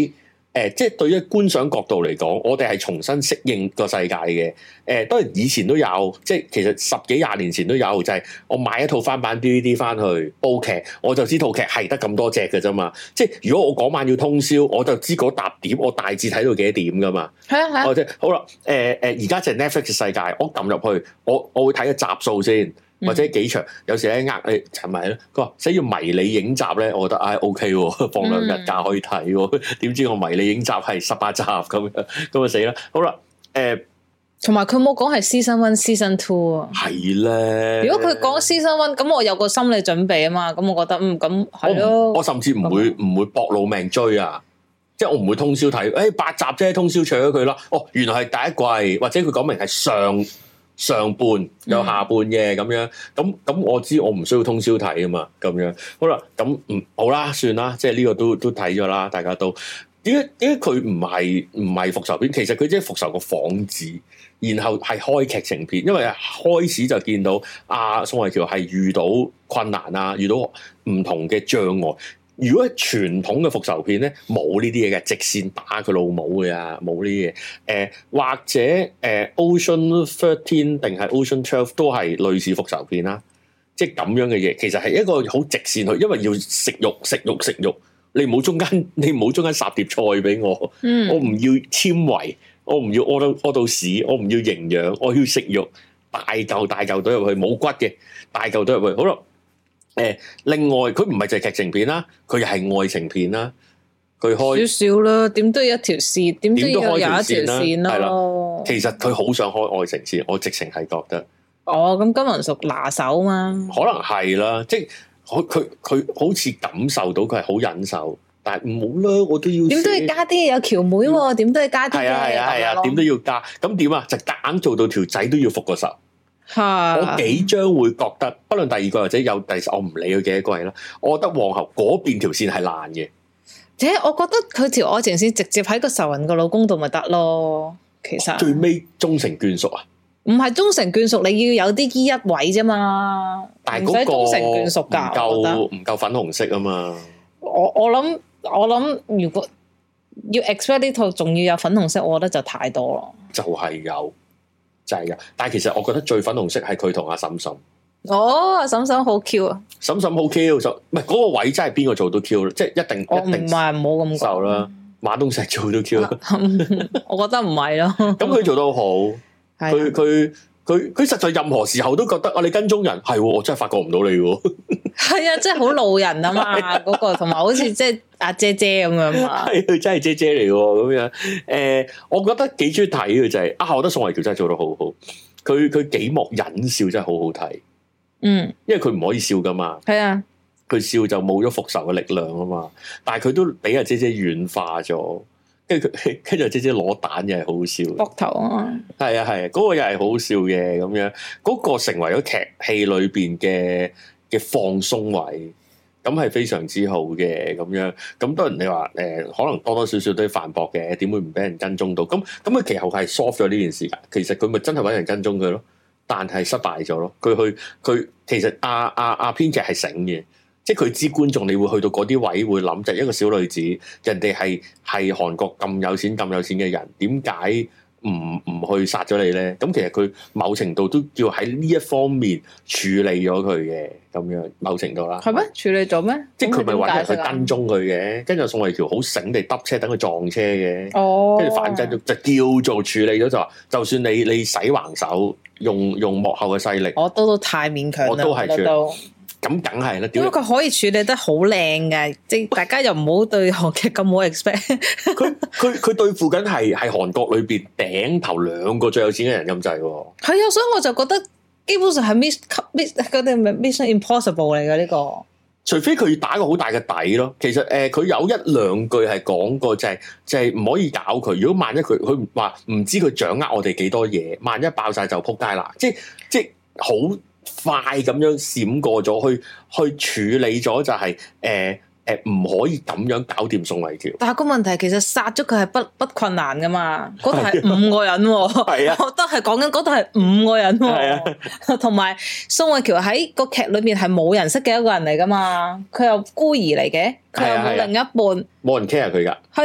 誒，即係對於觀賞角度嚟講，我哋係重新適應個世界嘅。誒、呃，當然以前都有，即係其實十幾廿年前都有，就係、是、我買一套翻版 D V D 翻去煲劇，我就知套劇係得咁多隻嘅啫嘛。即係如果我嗰晚要通宵，我就知嗰沓碟我大致睇到幾多點噶嘛。係啊係啊。或者好啦，誒、呃、誒，而家就係 Netflix 嘅世界，我撳入去，我我會睇個集數先。或者幾長，有時咧呃誒陳埋咧，佢話寫要迷你影集咧，我覺得唉 O K 喎，放兩日假可以睇喎。點知我迷你影集係十八集咁樣，咁啊死啦！好啦，誒， 同埋佢冇講係 season one、season two 啊。 係咧。如果佢講 season one，咁我有個心理準備啊嘛，咁我覺得嗯咁係咯。 我甚至唔會唔會搏老命追啊，即係我唔會通宵睇。誒八集啫，通宵搶咗佢啦。哦，原來係第一季，或者佢講明係上。上半有下半嘅咁樣，咁咁我知我唔需要通宵睇啊嘛，咁樣好啦，咁嗯好啦，算啦，即係呢個都都睇咗啦，大家都點解點解佢唔係唔係復仇片？其實佢即係復仇個幌子，然後係開劇情片，因為開始就見到阿宋慧喬係遇到困難啊，遇到唔同嘅障礙。如果係傳統嘅復仇片咧，冇呢啲嘢嘅，直線打佢老母嘅啊，冇呢啲嘢。誒、呃、或者誒、呃、Ocean Thirteen 定係 Ocean Twelve 都係類似復仇片啦，即係咁樣嘅嘢。其實係一個好直線去，因為要食肉食肉食肉，你唔好中間你唔好中間撒碟菜俾我，嗯、我唔要纖維，我唔要屙到屙到屎，我唔要營養，我要食肉，大嚿大嚿堆入去，冇骨嘅大嚿堆入去，好啦。誒，另外佢唔係就係劇情片啦，佢又係愛情片啦，佢開少少啦，點都有一條線，點都要有一條線咯。係啦， 其實佢好想開愛情線，我直情係覺得。 哦，咁金文淑拿手嘛？ 可能係啦，即係佢佢佢好似感受到佢係好忍受，但係唔好啦，我都要點都要加啲有喬妹喎，點都要加啲嘅。係啊係啊係啊， 點都要加。咁點啊？就夾硬做到條仔都要復個仇。我幾將會覺得，不論第二季或者有第，我唔理佢幾多季啦。我覺得皇后嗰邊條線係爛嘅， 且我覺得佢條愛情線直接喺個仇人個老公度咪得咯。其實最尾終成眷屬啊， 唔係終成眷屬，你要有啲依一位啫嘛。 但係嗰個終成眷屬噶， 唔夠唔夠粉紅色啊嘛。 我我諗我諗，如果要 expect 呢套仲要有粉紅色，我覺得就太多咯。 就係有。就係噶，但係其實我覺得最粉紅色係佢同阿嬸嬸。 哦，嬸嬸好 Q 啊！ 嬸嬸好 Q，就唔係嗰個位真係邊個做都 Q，即係一定。 我唔係唔好咁講啦，馬東石做都 Q。 我覺得唔係咯。咁佢做得好，佢佢佢佢實在任何時候都覺得啊，你跟蹤人係，我真係發覺唔到你喎。 係啊，真係好路人啊嘛，嗰個同埋好似即係阿姐姐咁樣嘛。 係佢真係姐姐嚟喎，咁樣。誒、呃，我覺得幾中意睇嘅就係、是、啊，我覺得宋慧喬真係做得好好。佢佢幾幕忍笑真係好好睇。嗯，因為佢唔可以笑噶嘛。係啊，佢笑就冇咗復仇嘅力量啊嘛。但係佢都俾阿姐姐軟化咗，跟住佢跟住阿姐姐攞蛋又係好笑。膊頭啊，係啊係啊，嗰、那個又係好笑嘅咁樣。嗰、那個成為咗劇戲裏邊嘅嘅放鬆位，咁係非常之好嘅咁樣。咁當然你話誒、呃，可能多多少少都要反駁嘅，點會唔俾人跟蹤到？咁咁佢其後係 soft 咗呢件事㗎。其實佢咪真係揾人跟蹤佢咯，但係失敗咗咯。佢去佢其實阿阿阿編劇係醒嘅，即係佢知觀眾你會去到嗰啲位會諗，就係一個小女子，人哋係係韓國咁有錢咁有錢嘅人，點解唔唔去殺咗你咧？咁其實佢某程度都叫喺呢一方面處理咗佢嘅，咁樣某程度啦。係咩？處理咗咩？即係佢咪揾人去跟蹤佢嘅，跟住宋慧喬好醒地揼車等佢撞車嘅。哦，跟住反跟咗就叫做處理咗，就話就算你你使橫手，用用幕後嘅勢力，我都都太勉強啦，我都係處理。咁梗係啦，因為佢可以處理得好靚嘅，即係大家又唔好對韓劇咁好 expect。佢佢佢對付緊係係韓國裏邊頂頭兩個最有錢嘅人咁滯喎。係啊，所以我就覺得基本上係 miss miss 嗰啲 mission impossible 嚟嘅呢個。除非佢打個好大嘅底咯。其實誒，佢、呃、有一兩句係講過，就係、是、就係、是、唔可以搞佢。如果萬一佢佢話唔知佢掌握我哋幾多嘢，萬一爆晒就撲街啦。即係即係好。快咁樣閃過咗，去去處理咗就係誒誒唔可以咁樣搞掂宋慧喬。但係個問題其實殺咗佢係不不困難噶嘛，嗰度係五個人，係啊，我都係講緊嗰度係五個人，係啊，同埋宋慧喬喺個劇裏面係冇人識嘅一個人嚟噶嘛，佢又孤兒嚟嘅，佢又冇另一半，冇人 care 佢噶，係啊。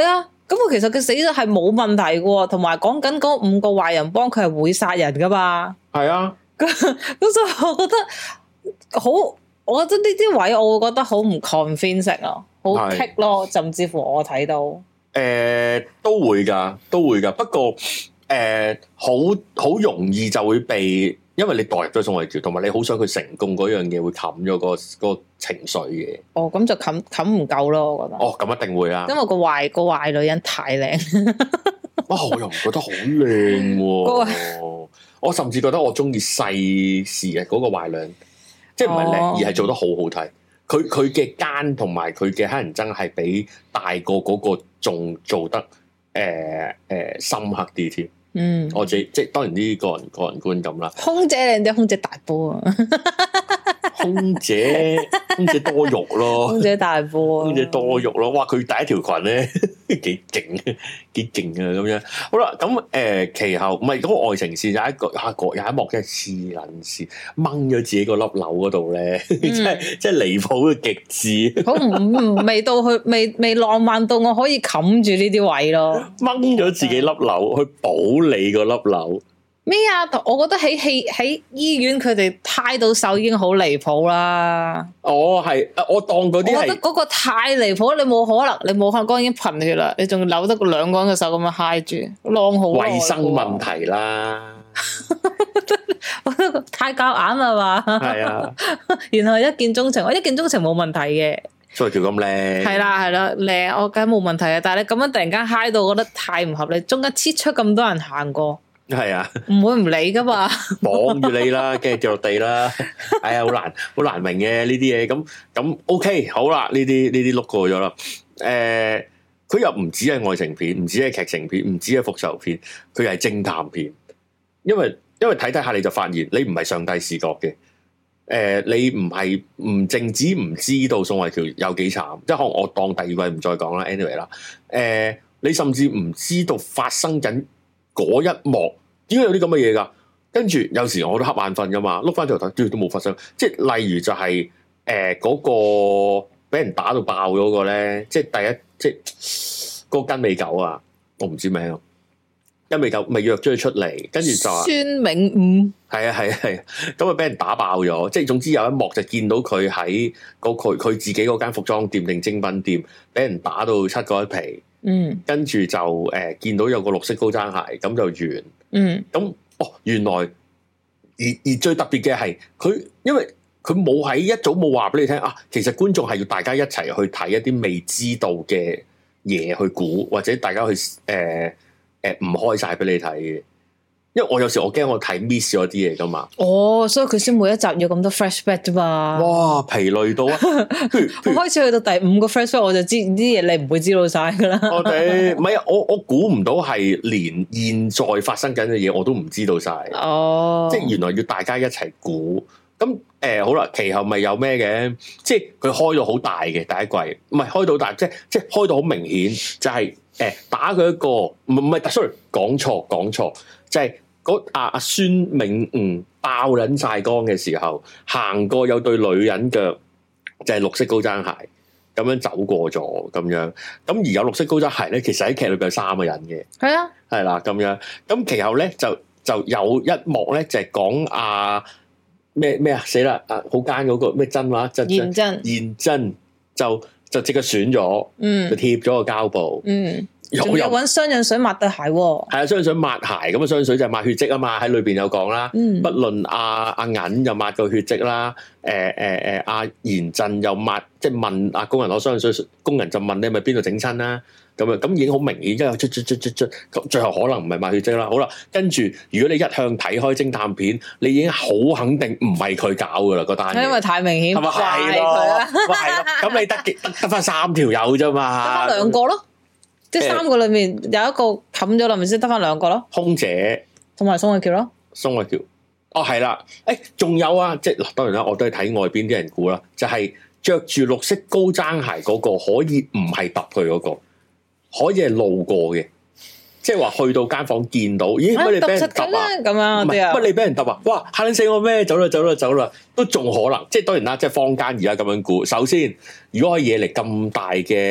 咁我其實佢死咗係冇問題嘅，同埋講緊嗰五個壞人幫佢係會殺人噶嘛。 係啊， 咁所以我覺得好，我覺得呢啲位我會覺得好唔 convincing 咯，好棘咯，甚至乎我睇到誒、 呃、都會噶，都會噶，不過誒好好容易就會被。因為你代入咗宋慧喬，同埋你好想佢成功嗰樣嘢，會冚咗個個情緒嘅。哦，咁就冚冚唔夠咯，我覺得。哦，咁一定會啦。因為個壞個壞女人太靚。哇！我又唔覺得好靚喎。我甚至覺得我中意細時嘅嗰個壞女人，即係唔係靚，而係做得好好睇。佢佢嘅奸同埋佢嘅黑人憎係比大個嗰個仲做得誒誒、呃呃、深刻啲添。嗯，我自己即係當然呢個人個人觀感啦。空姐靚啲，空姐大波啊！空姐空姐多肉咯，空姐大波，空姐多肉咯。哇！佢第一條裙咧幾勁，幾勁啊！咁樣好啦，咁誒、呃、其後唔係嗰個愛情線有一個啊個有一幕真係黐撚線，掹咗自己個粒鈕嗰度咧，即係即係離譜嘅極致。好唔未到去未未浪漫到我可以冚住呢啲位咯，掹咗自己粒鈕去補你個粒鈕。咩啊？我覺得喺戲喺醫院佢哋揩到手已經好離譜啦。哦，係，我當嗰啲係。我覺得嗰個太離譜，你冇可能，你冇可能剛已經貧血啦，你仲扭得兩個人嘅手咁樣揩住，浪好耐。衛生問題啦，我覺得太夾硬啦嘛。係啊，然後一見鍾情，我一見鍾情冇問題嘅。所以條咁靚。係啦係啦，靚我梗係冇問題嘅，但係你咁樣突然間揩到，我覺得太唔合理，中間切出咁多人行過。係啊，唔會唔理噶嘛，綁住你啦，跟住跌落地啦，哎呀，好難，好難明嘅呢啲嘢，咁咁 OK，好啦，呢啲呢啲碌過咗啦，誒、呃，佢又唔止係愛情片，唔止係劇情片，唔止係復仇片，佢係偵探片，因為因為睇睇下你就發現你唔係上帝視角嘅，誒、呃，你唔係唔淨止唔知道宋慧喬有幾慘，即係可能我當第二位唔再講啦 ，anyway 啦，誒，你甚至唔知道發生緊。嗰一幕點解有啲咁嘅嘢㗎？跟住有時我都瞌眼瞓㗎嘛，碌翻轉頭睇，都冇發生。即係例如就係誒嗰個俾人打到爆咗個咧，即係第一即係嗰個跟尾狗啊，我唔知名啊，跟尾狗咪約咗佢出嚟，跟住就話孫明悟係啊係啊係啊，咁啊俾人打爆咗。即係總之有一幕就見到佢喺嗰佢佢自己嗰間服裝店定精品店，俾人打到七個一皮。嗯，跟住就誒、呃、見到有個綠色高踭鞋，咁就完。嗯，咁哦，原來而而最特別嘅係佢，因為佢冇喺一早冇話俾你聽啊，其實觀眾係要大家一齊去睇一啲未知道嘅嘢去估，或者大家去誒誒唔開晒俾你睇嘅。因為我有時我驚我睇 miss 咗啲嘢噶嘛，哦，所以佢先每一集要咁多 flashback 啫嘛。哇，疲累到啊！我開始去到第五個 flashback，我就知啲嘢你唔會知道晒噶啦。我哋唔係啊，我我估唔到係連現在發生緊嘅嘢我都唔知道晒。哦，即係原來要大家一齊估。咁誒、呃、好啦，其後咪有咩嘅？即係佢開到好大嘅第一季，唔係開到大，即係即係開到好明顯，就係、是、誒、呃、打佢一個唔唔係，sorry 講錯講錯，就係、是。嗰阿阿孫明悟爆撚晒光嘅時候，行過有對女人腳，就係、是、綠色高踭鞋，咁樣走過咗咁樣。咁而有綠色高踭鞋咧，其實喺劇裏邊有三個人嘅。係啊，係啦咁樣。咁其後咧就就有一幕咧，就係講阿咩咩啊死啦！啊好奸嗰個咩真話？現真現真就就即刻選咗，嗯，就貼咗個膠布，嗯。仲有搵雙氧水抹對鞋，係啊，雙氧水抹鞋，咁啊，雙氧水就係抹血跡啊嘛，喺裏邊有講啦。嗯，不論阿阿銀又抹個血跡啦，誒誒誒，阿賢振又抹，即係問阿工人攞雙氧水，工人就問你係咪邊度整親啦？咁啊，咁已經好明顯，因為出出出出出，咁最後可能唔係抹血跡啦。好啦，跟住如果你一向睇開偵探片，你已經好肯定唔係佢搞噶啦，嗰單嘢，因為太明顯，係咪係咯？係咯，咁你得得得翻三條友啫嘛，得翻兩個咯。即係三個裏面有一個冚咗啦，咪先得翻兩個咯。空姐同埋宋慧喬咯。宋慧喬，哦係啦，誒、欸、仲有啊，即係嗱，當然啦，我都係睇外邊啲人估啦，就係着住綠色高踭鞋嗰個可以唔係揼佢嗰個，可以係路過嘅，即係話去到間房間見到，咦乜你俾人揼啊？咁樣乜你俾人揼啊？哇嚇你死我咩？走啦走啦走啦，都仲可能，即係當然啦，即係坊間而家咁樣估。首先，如果可以惹嚟咁大嘅。誒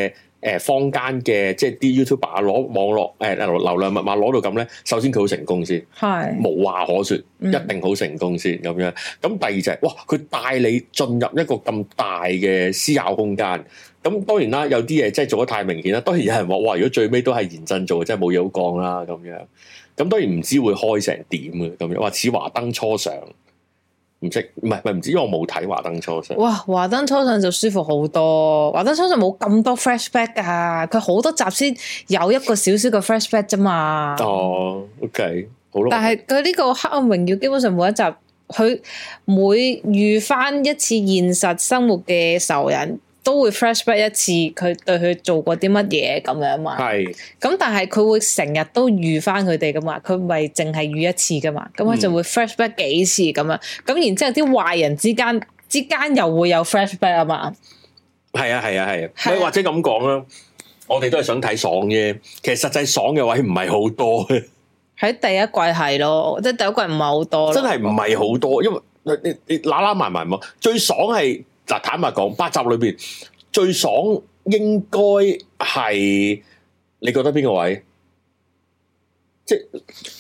誒坊間嘅即係啲 YouTuber 攞網絡誒流流量密碼攞到咁咧，首先佢好成功先，係無話可説，一定好成功先咁樣。咁第二就係哇，佢帶你進入一個咁大嘅思考空間。咁當然啦，有啲嘢真係做得太明顯啦。當然有人話哇，如果最尾都係嚴震做，真係冇嘢好講啦咁樣。咁當然唔知會開成點嘅咁樣，話似華燈初上。唔識，唔係唔係唔知，因為我冇睇華燈初上。哇， 華燈初上就舒服好多。華燈初上冇咁多 flashback 噶，佢好多集先有一個少少嘅 flashback 啫嘛。 哦 ，OK， 好咯。 但係佢呢個黑暗榮耀基本上每一集，佢每遇翻一次現實生活嘅仇人，都會 flashback 一次佢對佢做過啲乜嘢咁樣嘛。係。咁但係佢會成日都遇翻佢哋噶嘛，佢唔係淨係遇一次噶嘛，咁佢就會 flashback 幾次咁樣。咁然之後啲壞人之間之間又會有 flashback 啊嘛。 係啊係啊係啊，啊或者咁講啦，我哋都係想睇爽啫。其實實際爽嘅位唔係好多嘅。 喺第一季係咯，即係第一季唔係好多。真係唔係好多，因為你你你揦揦埋埋嘛，最爽係。嗱，坦白講，八集裏邊最爽應該係你覺得邊個位？即係誒、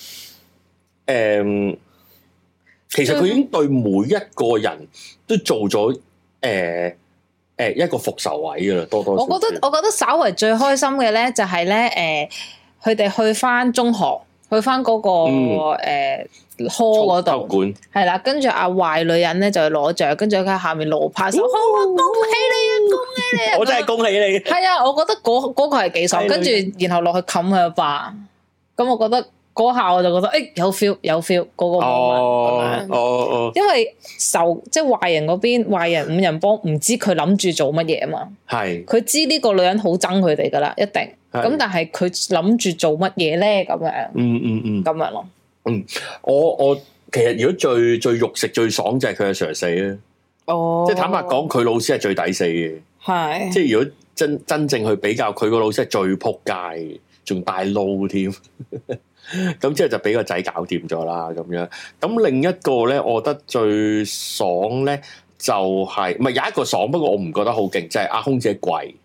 嗯，其實佢已經對每一個人都做咗誒誒一個復仇位噶啦，多多少少。 我覺得我覺得稍為最開心嘅咧，就係咧誒，佢哋去翻中學，去翻嗰、那個誒。嗯呃科嗰度係啦，跟住阿壞女人咧就去攞獎，跟住喺下面攞拍手，哦哦、恭喜你啊，恭喜你啊！ 我真係恭喜你。 係啊，我覺得嗰嗰、嗰個係幾爽，跟住然後落去冚佢一巴，咁我覺得嗰下我就覺得誒、欸、有 feel 有 feel 嗰個 moment 哦哦哦，因為受即係壞人嗰邊壞人五人幫唔知佢諗住做乜嘢啊嘛，係佢知呢個女人好憎佢哋噶啦，一定咁，但係佢諗住做乜嘢咧？咁樣嗯嗯嗯，咁樣咯。 嗯，我我其實如果最最肉食最爽就係佢阿 Sir 死啊！哦，即係坦白講，佢老師係最抵死嘅，係即係如果真真正去比較，佢個老師係最撲街，仲大撈添。咁之後就俾個仔搞掂咗啦，咁樣。咁另一個咧，我覺得最爽咧就係、是，唔係有一個爽，不過我唔覺得好勁，就係、是、阿空姐跪。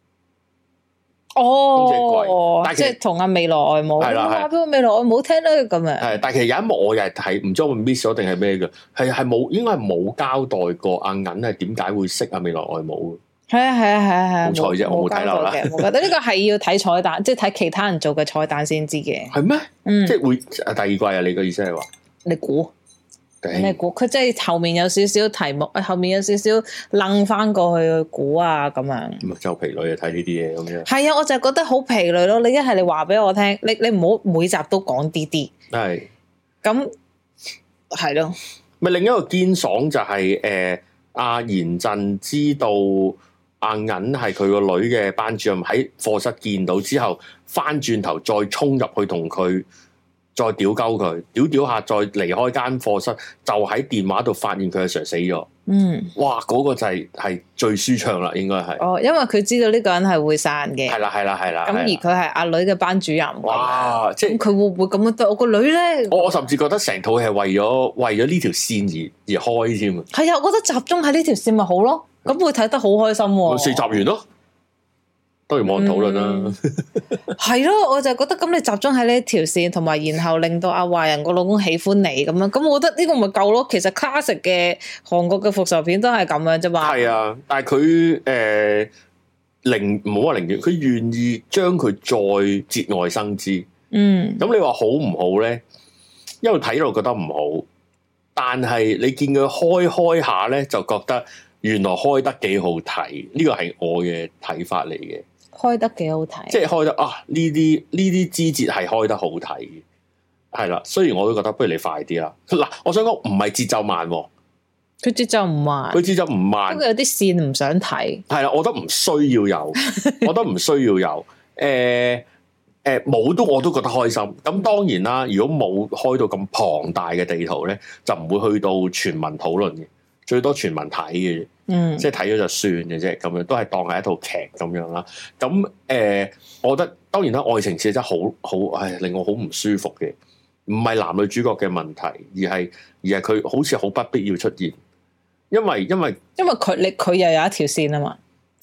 哦，即係同阿未來外母，係啦，話俾我未來外母聽啦，咁樣。 係，但係其實有一幕我又係睇，唔知我 miss 咗定係咩嘅，係係冇，應該係冇交代過阿銀係點解會識阿未來外母。係啊係啊係啊係啊，好彩啫，我冇睇漏啦。我覺得呢個係要睇彩蛋，即係睇其他人做嘅彩蛋先知嘅。係咩？嗯，即係會第二季啊？你個意思係話？你估？你估佢即係後面有少少題目，後面有少少楞翻過去估啊咁樣。咁就疲累啊，睇呢啲嘢咁樣。係啊，我就覺得好疲累咯。你一係你話俾我聽，你你唔好每集都講啲啲。係。咁係咯。咪另一個堅爽就係誒阿賢鎮知道阿銀係佢個女嘅班主任，喺課室見到之後，翻轉頭再衝入去同佢。再屌鳩佢，屌屌下再離開間課室，就喺電話度發現佢阿 Sir 死咗。嗯，哇，嗰、嗰個就係、係、係最舒暢啦，應該係。哦，因為佢知道呢個人係會殺人嘅。係啦，係啦，係啦。咁而佢係阿女嘅班主任。哇，即係佢會唔會咁樣對我個女咧？我我甚至覺得成套戲係為咗為咗呢條線而而開添啊。係啊，我覺得集中喺呢條線咪好咯，咁會睇得好開心、啊。四集完咯。當然冇人討論啦，係咯，我就覺得咁你集中喺呢條線，同埋然後令到阿壞人個老公喜歡你咁樣，咁我覺得呢個咪夠咯。其實 classic 嘅韓國嘅復仇片都係咁樣啫嘛。係啊，但係佢誒寧唔好話寧願，佢願意將佢再節外生枝。嗯，咁你話好唔好咧？因為睇落覺得唔好，但係你見佢開開下咧，就覺得原來開得幾好睇。呢個係我嘅睇法嚟嘅。開得幾好睇，即係開得啊！呢啲呢啲枝節係開得好睇，係啦。雖然我都覺得不如你快啲啦。嗱，我想講唔係節奏慢，佢節奏唔慢，佢節奏唔慢，不過有啲線唔想睇。係啦，我覺得唔需要有，我覺得唔需要有。誒、呃、誒，冇、呃、都我都覺得開心。咁當然啦，如果冇開到咁龐大嘅地圖咧，就唔會去到全民討論嘅，最多全民睇嘅。嗯，即係睇咗就算嘅啫，咁樣都係當係一套劇咁樣啦。咁誒、呃，我覺得當然啦，愛情線真係好好，唉，令我好唔舒服嘅。唔係男女主角嘅問題，而係而係佢好似好不必要出現，因為因為因為佢你佢又有一條線啊嘛。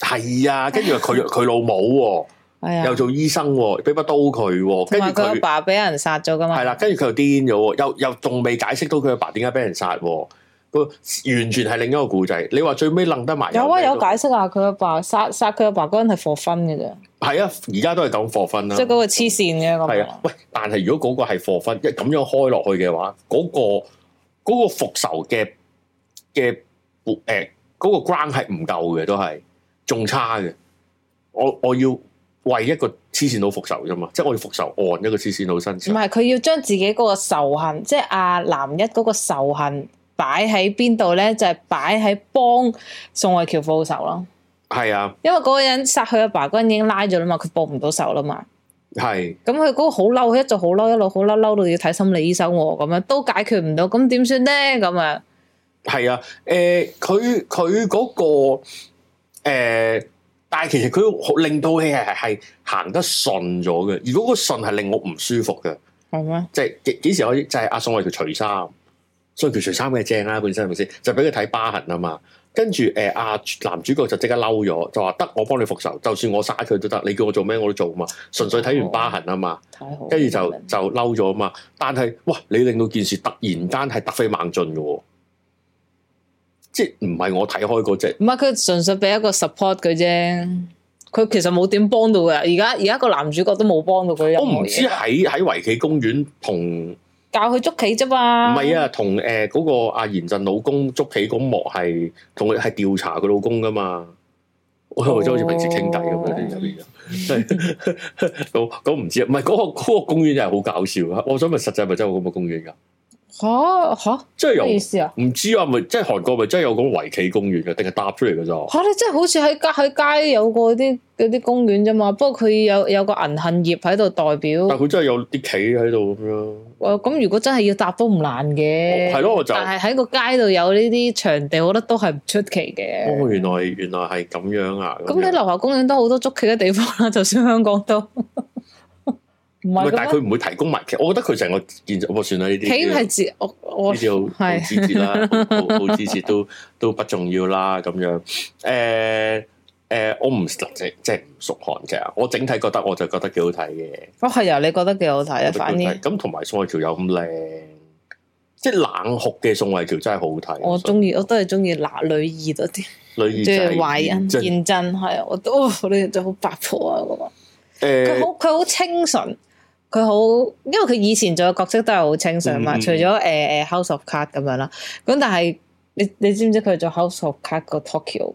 係啊，跟住佢佢老母喎，又做醫生喎，俾把刀佢，跟住佢阿爸俾人殺咗噶嘛。 係啦，跟住佢又癲咗，又又仲未解釋到佢阿爸點解俾人殺。個完全係另一個故仔。你話最尾楞得埋有啊，有解釋啊，佢阿爸殺殺佢阿爸嗰陣係for fun嘅啫。係啊，而家都係咁 for fun 啦。 即係嗰個黐線嘅咁。 係啊，喂！但係如果嗰個係 for fun，一咁樣開落去嘅話，嗰、嗰個嗰、嗰個復仇嘅嘅誒嗰個 ground 係唔夠嘅，都係仲差嘅。我我要為一個黐線佬復仇啫嘛，即係我要復仇案一個黐線佬身上。唔係， 佢要將自己嗰個仇恨，即係阿男一嗰個仇恨。擺喺邊度咧？就係擺喺幫宋慧喬報仇咯。 係啊， 因為嗰個人殺佢阿爸嗰人已經拉咗啦嘛，佢報唔到仇啦嘛。 係。 咁佢嗰個好嬲，佢一直好嬲，一路好嬲，嬲到要睇心理醫生喎，咁樣都解決唔到，咁點算咧？咁啊。係啊，誒，佢佢嗰個誒、呃，但係其實佢令到戲係係行得順咗嘅。如果個順係令我唔舒服嘅，係咩？即係幾幾時可以？就係阿宋慧喬除衫。所以佢除衫嘅正啦，本身係咪先？就俾佢睇疤痕啊嘛。跟住誒，阿、呃、男主角就即刻嬲咗，就話得我幫你復仇，就算我殺佢都得。你叫我做咩我都做嘛。純粹睇完疤痕啊嘛。太好。跟住就就嬲咗啊嘛。但係哇，你令到件事突然間係突飛猛進嘅，即係唔係我睇開嗰隻。唔係佢純粹俾一個 support 佢啫。佢其實冇點幫到嘅。而家而家個男主角都冇幫到佢。我唔知喺喺圍棋公園同。教佢捉棋啫嘛，唔係啊，同誒嗰個阿賢陣老公捉棋嗰幕係同佢係調查佢老公噶嘛，我即係好似平時傾偈咁樣入邊嘅，咁咁唔知啊，唔係嗰個嗰個公園又係好搞笑啊！我想問實際咪真係有咁嘅公園噶？吓吓，即係有咩意思啊？唔知啊，咪即係韓國咪真係有個圍棋公園嘅，定係搭出嚟嘅咋？吓，你真係好似喺街喺街有個啲嗰啲公園啫嘛？不過佢有有個銀杏葉喺度代表，但係佢真係有啲棋喺度咁樣。咁如果真係要搭都唔難嘅，係咯，我就但係喺個街度有呢啲場地，我覺得都係唔出奇嘅。哦，原來原來係咁樣啊！咁你樓下公園都好多捉棋嘅地方啦，就算香港都。唔係，但係佢唔會提供埋棋。我覺得佢成個建築，我算啦呢啲。棋係自我我呢啲好好枝節啦，好好枝節都都不重要啦。咁樣誒誒、呃，我唔即即係唔熟韓劇啊。我整體覺得我就覺得幾好睇嘅。哦，係啊，你覺得幾好睇啊？反而咁同埋宋慧喬又咁靚，即係冷酷嘅宋慧喬真係好睇。我中意，我都係中意男女二多啲。女二即係懷恩賢真係啊！我都你就好八婆啊嗰個。誒，佢好佢好清純。佢好，因為佢以前做嘅角色都係好清純嘛，嗯、除咗誒誒 House of Cards 咁樣啦。咁但係你你知唔知佢做 House of Cards 個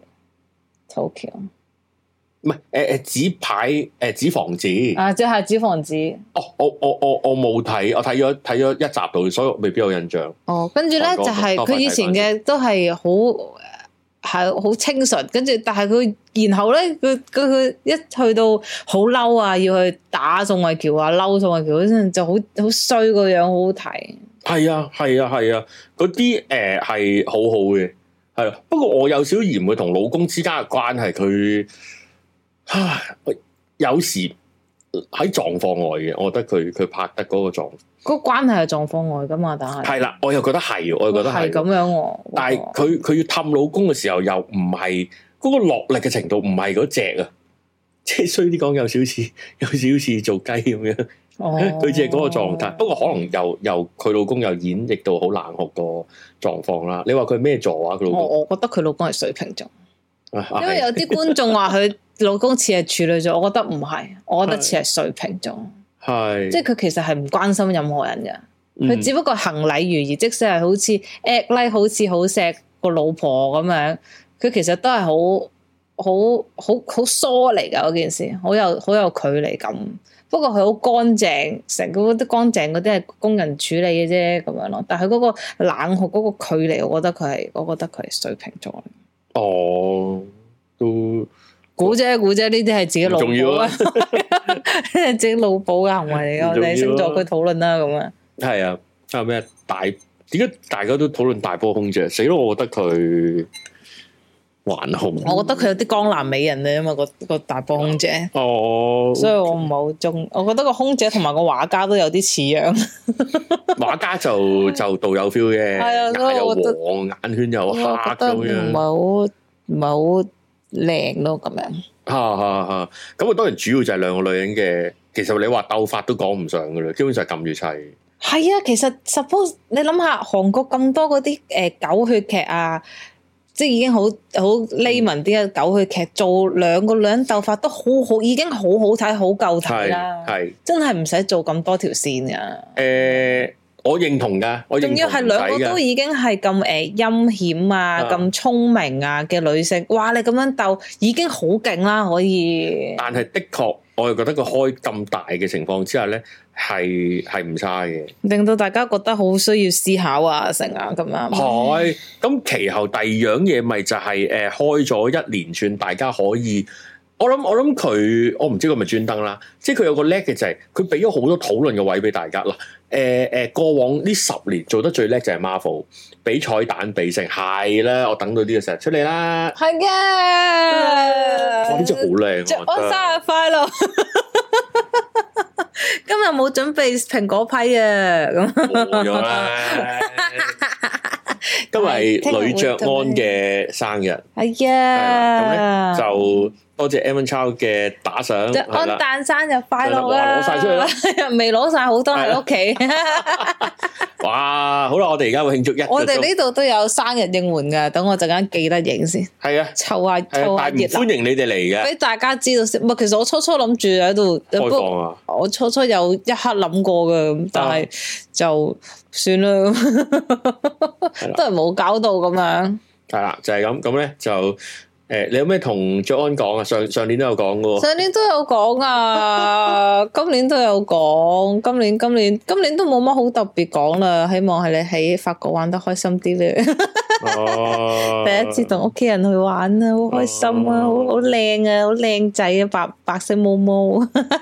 Tokyo？Tokyo 唔係誒誒紙牌誒紙房子啊，即係紙房子。哦，我我我我冇睇，我睇咗睇咗一集度，所以未必有印象。哦，跟住咧就係佢以前嘅都係好。係好清純，跟住但係佢然後咧，佢佢佢一去到好嬲啊，要去打宋慧喬啊，嬲宋慧喬嗰陣就好好衰個樣，好好睇。係啊，係啊，係啊，嗰啲誒係好好嘅，係啊。不過我有少少嫌佢同老公之間嘅關係，佢唉有時喺狀況外嘅，我覺得佢佢拍得嗰個狀。嗰個關係係狀況外噶嘛，但係係啦，我又覺得係，我又覺得係咁樣、啊。但係佢佢要氹老公嘅時候，又唔係嗰個落力嘅程度，唔係嗰隻啊，即係衰啲講，有少少有少少做雞咁樣。哦，佢只係嗰個狀態。不過可能又又佢老公又演繹到好冷酷個狀況啦。你話佢咩座啊？佢老公，我我覺得佢老公係水瓶座，啊、因為有啲觀眾話佢老公似係處女座，我覺得唔係，我覺得似係水瓶座。係，即係佢其實係唔關心任何人嘅，佢、嗯、只不過行禮如儀，即使係好似 act like 好似好錫個老婆咁樣，佢其實都係好好好好疏離噶嗰件事，好有好有距離感。不過佢好乾淨，成個啲乾淨嗰啲係工人處理嘅啫咁樣咯。但係嗰個冷酷嗰個距離，我覺得佢係，我覺得佢係水瓶座。哦，都。估啫估啫，呢啲係自己腦補啊，自己腦補嘅行為嚟嘅，我哋星座去討論啦咁啊。係啊，啊咩大？點解大家都討論大波空姐？死咯！我覺得佢還好。我覺得佢有啲江南美人嚟啊嘛，個個大波空姐。哦，所以我唔係好中。我覺得個空姐同埋個畫家都有啲似樣。畫家就就導有 feel 嘅，眼又黃，眼圈又黑咁樣。唔係好，唔係好。 靚咯咁樣。 嚇嚇嚇！咁啊當然主要就係兩個女人嘅，其實你話鬥法都講唔上噶啦，基本上係撳住砌。 係啊，其實 suppose 你諗下韓國咁多嗰啲誒狗血劇啊，即係已經好好 layman 啲嘅狗血劇，做兩個女人鬥法都好好，已經好好睇，好夠睇啦。係真係唔使做咁多條線噶。誒、 呃，我認同噶，我仲要係兩個都已經係咁誒陰險啊，咁聰明啊嘅女性，哇！你咁樣鬥已經好勁啦，可以。但係的確，我又覺得佢開咁大嘅情況之下咧。係係唔差嘅，令到大家覺得好需要思考啊，成啊咁樣。係咁，其後第二樣嘢咪就係、是、誒、呃、開咗一連串，大家可以，我諗我諗佢，我唔知佢咪專登啦，即係佢有個叻嘅就係佢俾咗好多討論嘅位俾大家啦。誒、呃、誒，過往呢十年做得最叻就係 Marvel，俾彩蛋俾成係啦，我等到呢個時候出嚟啦，係嘅，哇！呢隻好靚，祝我生日快樂。今日冇準備蘋果批啊，咁冇咗啦。今日係呂爵安嘅生日，係啊，咁咧就多謝 Evan Chow 嘅打賞。爵安誕生日快樂啦！攞晒出去啦，未攞晒好多喺屋企。哇，好啦，我哋而家會慶祝一，我哋呢度都有生日應援噶，等我陣間記得影先。係啊，湊下湊下熱鬧，歡迎你哋嚟嘅，俾大家知道先。唔係，其實我初初諗住喺度開放啊，我初初有一刻諗過嘅，但係就算啦，都係冇搞到咁樣。係啦，就係咁，咁咧就。誒，你有咩同爵安講啊？上上年都有講噶，上年都有講啊，今年都有講，今年今年今年都冇乜好特別講啦。希望係你喺法國玩得開心啲咧。哦，第一次同屋企人去玩啊，好開心啊，好好靚啊，好靚仔啊，白白色毛毛。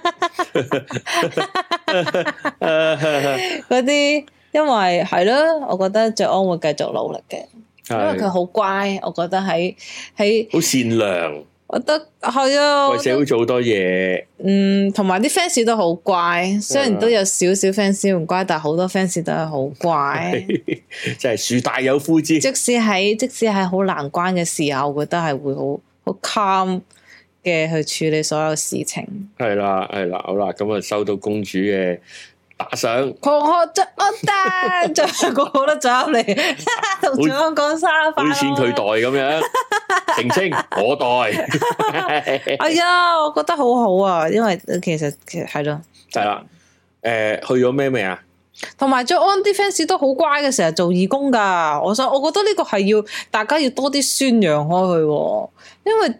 嗰啲，因為係咯，我覺得爵安會繼續努力嘅。因為佢好乖，我覺得喺喺好善良，我覺得係啊，為社會做好多嘢。嗯，同埋啲 fans 都好乖，雖然都有少少 fans 唔乖，但係好多 fans 都係好乖。即係樹大有枯枝。即使喺即使喺好難關嘅時候，我覺得係會好好 calm 嘅去處理所有事情。係啦，係啦，好啦，咁啊收到公主嘅打賞，狂學爵安誕，就個個都走入嚟同爵安講生日快樂，啲錢佢袋咁樣，澄清我袋。哎呀，我覺得好好啊，因為其實其實係咯，係啦，誒、呃，去咗咩未啊？同埋爵安啲 fans 都好乖嘅，成日做義工噶。我想，我覺得呢個係要大家要多啲宣揚開去，因為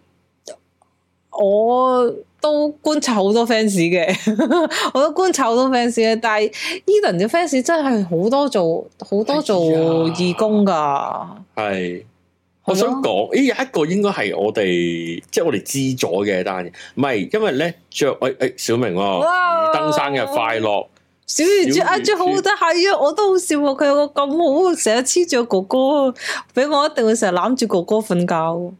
我。都觀察好多 fans 嘅，我都觀察好多 fans 嘅，但係 Eden 嘅 fans 真係好多做好多做義工噶。係，我想講，咦，有一個應該係我哋，即係我哋知咗嘅單嘢，唔係，因為咧爵誒誒小明喎，二登生日快樂，小魚爵啊爵好得係啊，我都好笑喎，佢有個咁好，成日黐住個哥哥，俾我一定會成日攬住哥哥瞓覺。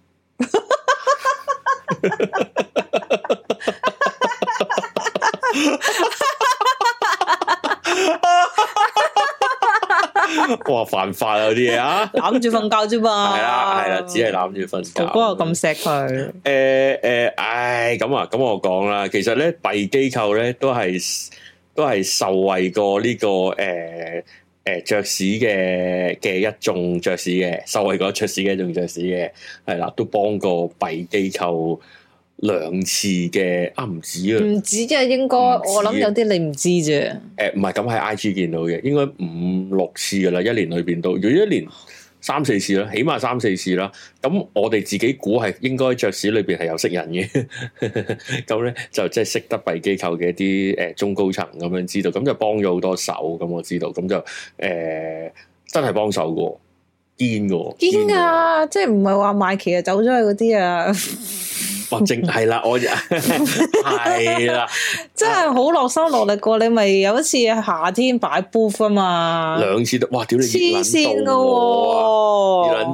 哇，犯法啊！嗰啲嘢啊，攬住瞓覺啫嘛，係啦係啦，只係攬住瞓覺。哥哥又咁錫佢，誒誒，唉，咁啊，咁我講啦，其實咧，弊機構咧都係都係受惠過呢、這個誒誒爵士嘅嘅一眾爵士嘅，受惠過爵士嘅一眾爵士嘅，係啦，都幫過弊機構兩次嘅，啊唔止啊，唔止啊，應該我諗有啲你唔知啫。誒唔係咁喺 I G 見到嘅，應該五六次噶啦，一年裏邊都，如果一年三四次啦，起碼三四次啦。咁我哋自己估係應該爵士裏邊係有識人嘅，咁咧就即係識得弊機構嘅一啲誒中高層咁樣知道，咁就幫咗好多手。咁我知道，咁就誒、呃、真係幫手噶，堅噶，堅噶，即係唔係話賣旗啊走咗去嗰啲啊。哇！正係啦，我係啦，真係好落心落力過。你咪有一次夏天擺 booth 啊嘛，兩次都哇！屌你黐線噶，熱撚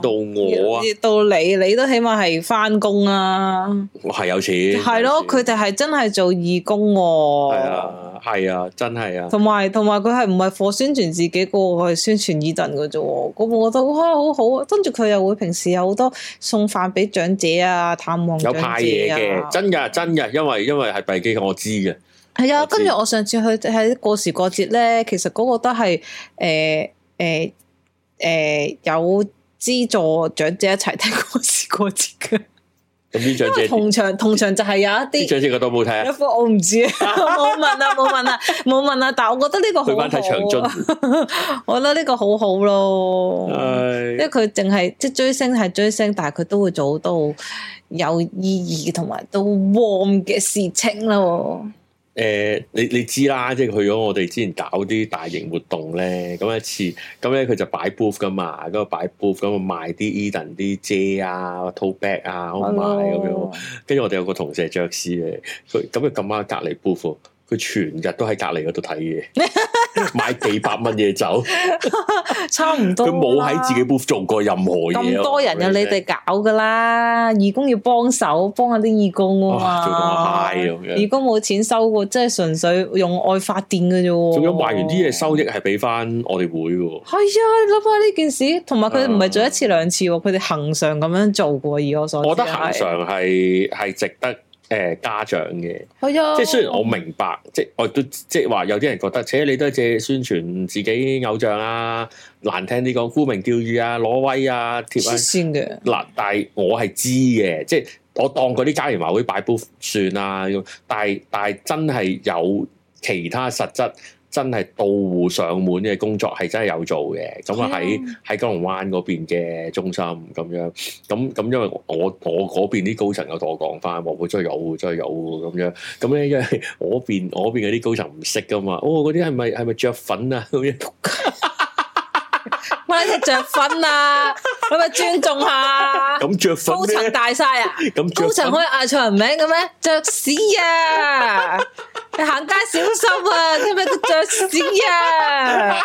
到我啊， 到你你都起碼係翻工啊， 係有錢， 係咯，佢哋係真係做義工喎， 係啊係啊，真係啊， 同埋同埋佢係唔係貨宣傳自己個，佢係宣傳伊頓嘅啫，咁我覺得哇好好啊，跟住佢又會平時有好多送飯俾長者啊，探望長者啊，有派嘢嘅， 真噶真噶，因為因為係閉機，我知嘅。 係啊，跟住我上次去喺過時過節咧，其實嗰個都係誒誒誒有資助長者一齊聽過時過節嘅。咁啲長者同場同場就係有一啲長者覺得冇睇啊？ 一科我唔知啊，冇問啊，冇問啊，冇問啊。但係我覺得呢個好好，睇長津我覺得呢個好好咯，因為佢淨係即係追星係追星，但係佢都會做到有意義同埋都 warm 嘅事情咯。 誒、呃，你你知啦，即係去咗我哋之前搞啲大型活動咧，咁一次，咁咧佢就擺 booth 噶嘛，嗰個擺 booth 咁啊賣啲 Eden 啲遮啊、tote bag 啊，好賣咁樣。跟住我哋有個同事係爵士嘅，佢咁啊咁啱隔離 booth。佢全日都喺隔離嗰度睇嘢，買幾百蚊嘢走， 差唔多。 佢冇喺自己 booth 做過任何嘢。 咁多人有你哋搞噶啦，義工要幫手幫下啲義工啊嘛。 做到我嗨咁樣。義工冇錢收喎，即係純粹用愛發電嘅啫喎。 仲有賣完啲嘢收益係俾翻我哋會喎。係啊，你諗下呢件事，同埋佢唔係做一次兩次喎，佢哋恆常咁樣做過。以我所知， 我覺得恆常係係值得。誒、呃、家長嘅，係啊，即係雖然我明白，即係我都即係話有啲人覺得，且你都係借宣傳自己偶像啊，難聽啲講沽名釣譽啊，攞威啊，貼啊， 先嘅嗱，但係我係知嘅，即係我當嗰啲家園華會擺 booth 算啦，但係但係真係有其他實質。真係到戶上門嘅工作係真係有做嘅，咁啊喺喺九龍灣嗰邊嘅中心咁樣，咁咁因為我我嗰邊啲高層有同我講翻，話會真係有，真係有咁樣，咁咧因為我邊我邊嗰啲高層唔識噶嘛，哦嗰啲係咪係咪著粉啊咁樣？ 乜嘢著粉啊？咁咪尊重下。 咁著粉高層大晒啊！咁高層可以嗌錯人名嘅咩？著屎啊！你行街小心啊！知唔知佢著屎啊？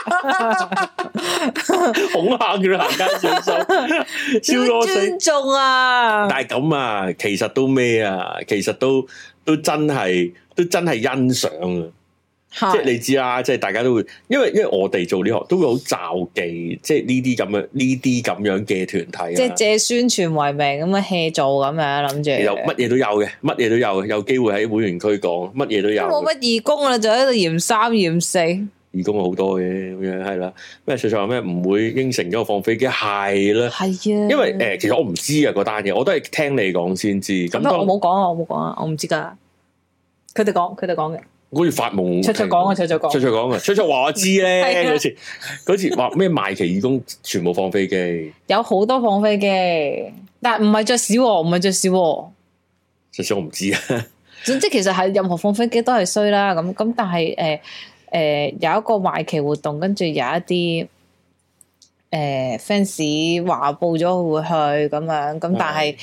恐嚇佢行街小心，笑我死！ 尊重啊！ 但係咁啊，其實都咩啊？其實都都真係都真係欣賞啊！即係你知啦，即係大家都會，因為因為我哋做呢行都會好罩忌，即係呢啲咁樣呢啲咁樣嘅團體，即係借宣傳為名咁樣 hea 做咁樣諗住， 有乜嘢都有嘅，乜嘢都有，有機會喺會員區講，乜嘢都有。 冇乜義工啦，就喺度嫌三嫌四。 義工好多嘅咁樣係啦，咩徐徐話咩唔會應承咗我放飛機係啦，係啊，因為誒、呃、其實我唔知啊嗰單嘢，我都係聽你講先知。咁我冇講啊，我冇講啊，我唔知噶。佢哋講，佢哋講嘅。 好似發夢， 卓卓講啊，卓卓講， 卓卓講啊，卓卓話我知咧，嗰次嗰次話咩賣旗義工全部放飛機， 有好多放飛機，但係唔係着屎，唔係着屎， 着屎我唔知啊。 總之其實係任何放飛機都係衰啦，咁咁但係誒誒有一個賣旗活動，跟住有一啲誒 fans 話報咗會去咁樣，咁但係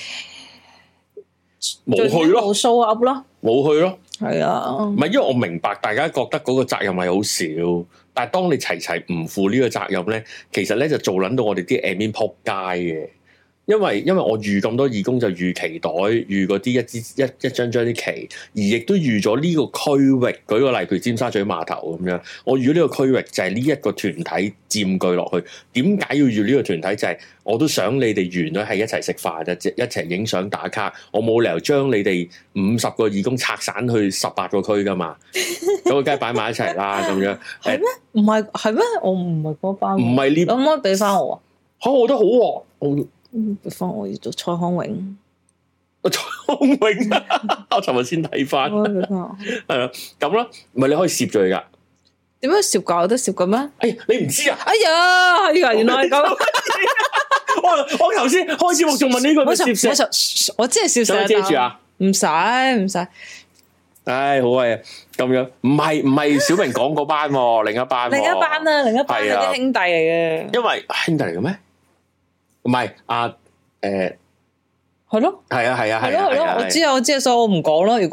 冇去咯， 冇 show up 咯，冇去咯。 係啊， 唔係因為我明白大家覺得嗰個責任係好少，但係當你齊齊唔負呢個責任咧，其實咧就做撚到我哋啲 admin 撲街嘅。因為因為我預咁多義工就預旗袋，預嗰啲一支一一張張啲旗，而亦都預咗呢個區域。舉個例，譬如尖沙咀碼頭咁樣，我預咗呢個區域就係呢一個團體佔據落去。點解要預呢個團體？就係、是、我都想你哋完咗係一齊食飯啫，一齊影相打卡。我冇理由將你哋五十個義工拆散去十八個區噶嘛，咁我梗係擺埋一齊啦。咁樣係咩？唔係係咩？我唔係嗰班，唔係呢？ 可唔可以俾翻我啊？ 嚇，我覺得好喎、啊。我俾翻我要做蔡康永， 蔡康永啊！我尋日先睇翻，係啊，咁啦，唔係你可以攝咗佢噶？ 點樣攝噶？有得攝嘅咩？ 哎呀，你唔知啊？ 哎呀，係啊，原來係咁。 我我頭先開始我仲問呢個， 我攝我真係攝想遮住啊？ 唔使唔使。 唉，好啊，咁樣唔係唔係小明講嗰班，另一班， 另一班啊，另一班係啲兄弟嚟嘅。 因為兄弟嚟嘅咩？唔係啊，誒，係咯， 係啊，係啊， 係咯，係咯，我知啊，我知啊，所以我唔講咯。如果係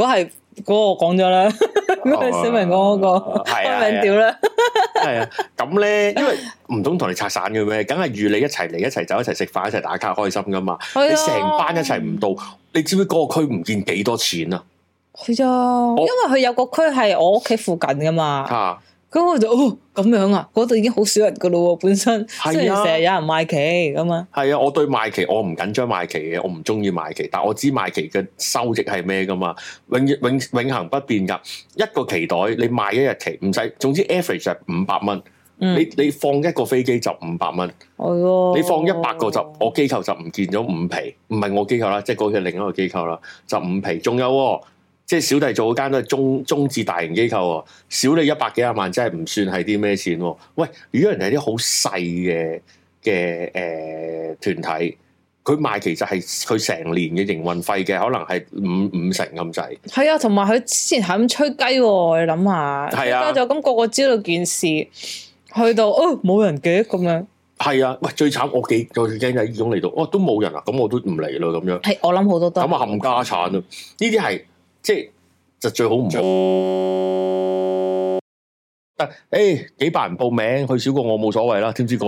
嗰個我講咗啦，嗰個小明講嗰個開名調啦。 係啊，咁咧，因為唔通同你拆散嘅咩？梗係預你一齊嚟，一齊走，一齊食飯，一齊打卡，開心噶嘛。你成班一齊唔到，你知唔知嗰個區唔見幾多錢啊？ 係啊，因為佢有個區係我屋企附近噶嘛。啊咁我就哦咁樣啊，嗰度已經好少人噶咯喎，本身雖然成日有人賣旗咁啊。係啊，我對賣旗我唔緊張賣旗嘅，我唔中意賣旗，但我知賣旗嘅收益係咩噶嘛，永永永恆不變噶。一個旗袋你賣一日旗唔使，總之 average 係五百蚊。你你放一個飛機就五百蚊。係咯。你放一百個就我機構就唔見咗五皮，唔係我機構啦，即係嗰個另一個機構啦，就五皮。仲有、哦。即係小弟做嗰間都係中中至大型機構喎，少你一百幾廿萬真係唔算係啲咩錢喎。喂，如果人哋係啲好細嘅嘅誒團體，佢賣其實係佢成年嘅營運費嘅，可能係五五成咁滯。係啊，同埋佢之前係咁吹雞喎，你諗下，係啊，就咁個個知道件事，去到哦冇人嘅咁樣。係啊，喂，最慘我幾最驚就係義工嚟到，哦都冇人啊，咁我都唔嚟咯咁樣。 係，我諗好多都咁啊冚家產啊，呢啲係。即係就最好唔好，但誒、欸、幾百人報名去少過我冇所謂啦，知唔知個？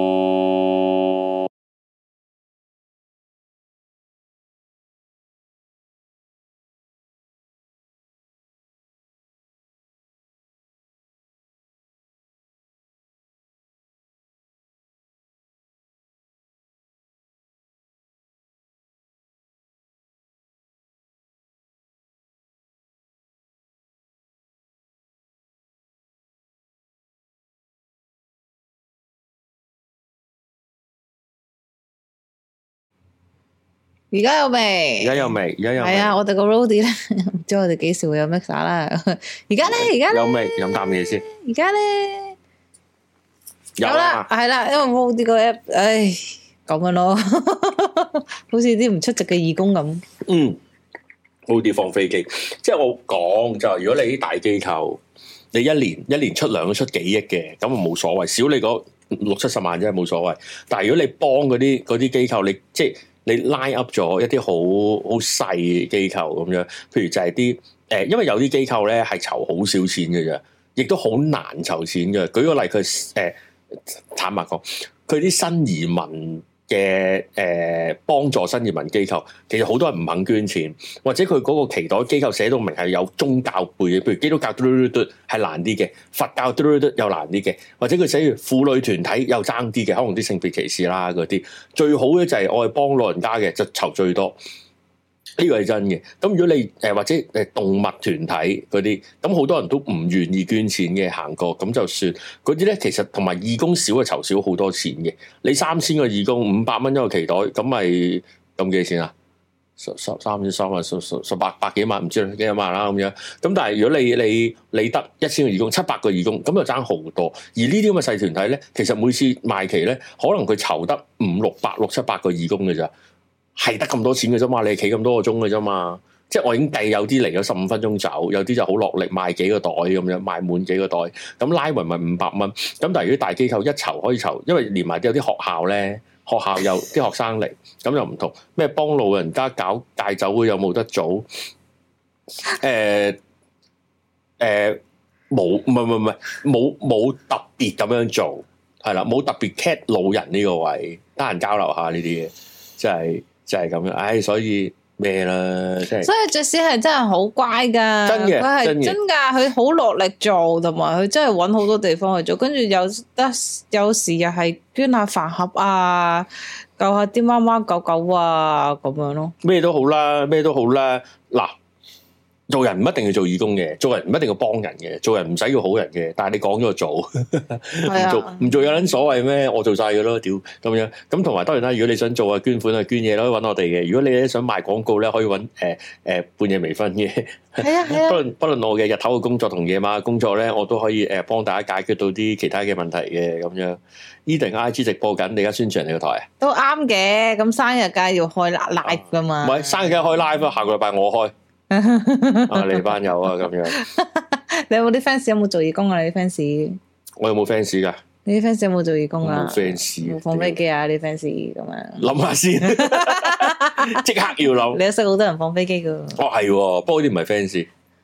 而家有未？ 而家有未？而家有未？ 係啊，我哋個 roadie 咧，唔知我哋幾時會有 mixer 啦。而家咧，而家有未？飲啖嘢先。 而家咧有啦，係啦，因為 roadie 個 app，唉，咁樣咯，好似啲唔出席嘅義工咁。 嗯 roadie 放飛機，即係我講就係，如果你啲大機構，你一年一年出糧都出幾億嘅，咁啊冇所謂，少你嗰六七十萬真係冇所謂。但係如果你幫嗰啲嗰啲機構，你即係。你 line up 咗一啲好好細機構咁樣，譬如就係啲誒，因為有啲機構咧係籌好少錢嘅啫，亦都好難籌錢嘅。舉個例，佢誒、呃、坦白講，佢啲新移民嘅誒幫助新移民機構，其實好多人唔肯捐錢，或者佢嗰個旗袋機構寫到明係有宗教背嘅，譬如基督教嘟嘟嘟係難啲嘅，佛教嘟嘟嘟又難啲嘅，或者佢寫住婦女團體又爭啲嘅，可能啲性別歧視啦嗰啲。最好咧就係我係幫老人家嘅，就籌最多。呢個係真嘅。咁如果你誒、呃、或者誒動物團體嗰啲，咁好多人都唔願意捐錢嘅，行過咁就算。嗰啲咧其實同埋義工少嘅籌少好多錢嘅。你三千個義工五百蚊一個旗袋，咁咪咁幾多錢啊？十十三千三萬十十十八百幾萬，唔知幾多萬啦咁樣。咁但係如果你你你得一千個義工，七百個義工，咁就爭好多。而呢啲咁嘅細團體咧，其實每次賣旗咧，可能佢籌得五六百六七百個義工嘅咋。係得咁多錢嘅啫嘛，你企咁多個鐘嘅啫嘛，即係我已經計有啲嚟咗十五分鐘走，有啲就好落力賣幾個袋咁樣，賣滿幾個袋，咁拉勻咪五百蚊。咁但係如果大機構一籌可以籌，因為連埋有啲學校咧，學校有啲學生嚟，咁又唔同咩幫老人家搞戒酒會有冇得做？誒誒冇，唔係唔係唔係冇冇特別咁樣做，係啦，冇特別 cat 老人呢個位，得閒交流下呢啲嘢，即係。就係咁樣，唉，所以咩啦，即係。所以爵士係真係好乖噶，真嘅，佢係真噶，佢好落力做，同埋佢真係搵好多地方去做，跟住有得有時又係捐下飯盒啊，救下啲貓貓狗狗啊，咁樣咯。咩都好啦，咩都好啦，嗱。做人唔一定要做義工嘅，做人唔一定要幫人嘅，做人唔使要好人嘅。但係你講咗就做，唔做唔做有撚所謂咩？我做晒嘅咯，屌咁樣。咁同埋當然啦，如果你想做啊捐款啊捐嘢，可以揾我哋嘅。如果你咧想賣廣告咧，可以揾誒誒半夜微醺嘅。係啊係啊。不論不論我嘅日頭嘅工作同夜晚嘅工作咧，我都可以誒幫大家解決到啲其他嘅問題嘅咁樣。Eden I G 直播緊，你而家宣傳你個台啊？都啱嘅，咁生日梗係要開 live 噶嘛。唔係生日梗係開 live 啊，下個禮拜我開。啊！你班友啊，咁樣。你有冇啲 fans 有冇做義工啊？你啲 fans？我有冇 fans 噶？你啲 fans 有冇做義工啊？冇 fans。放飛機啊！你 fans 咁樣。諗下先，即刻要諗。你都識好多人放飛機噶。哦，係，不過啲唔係 fans。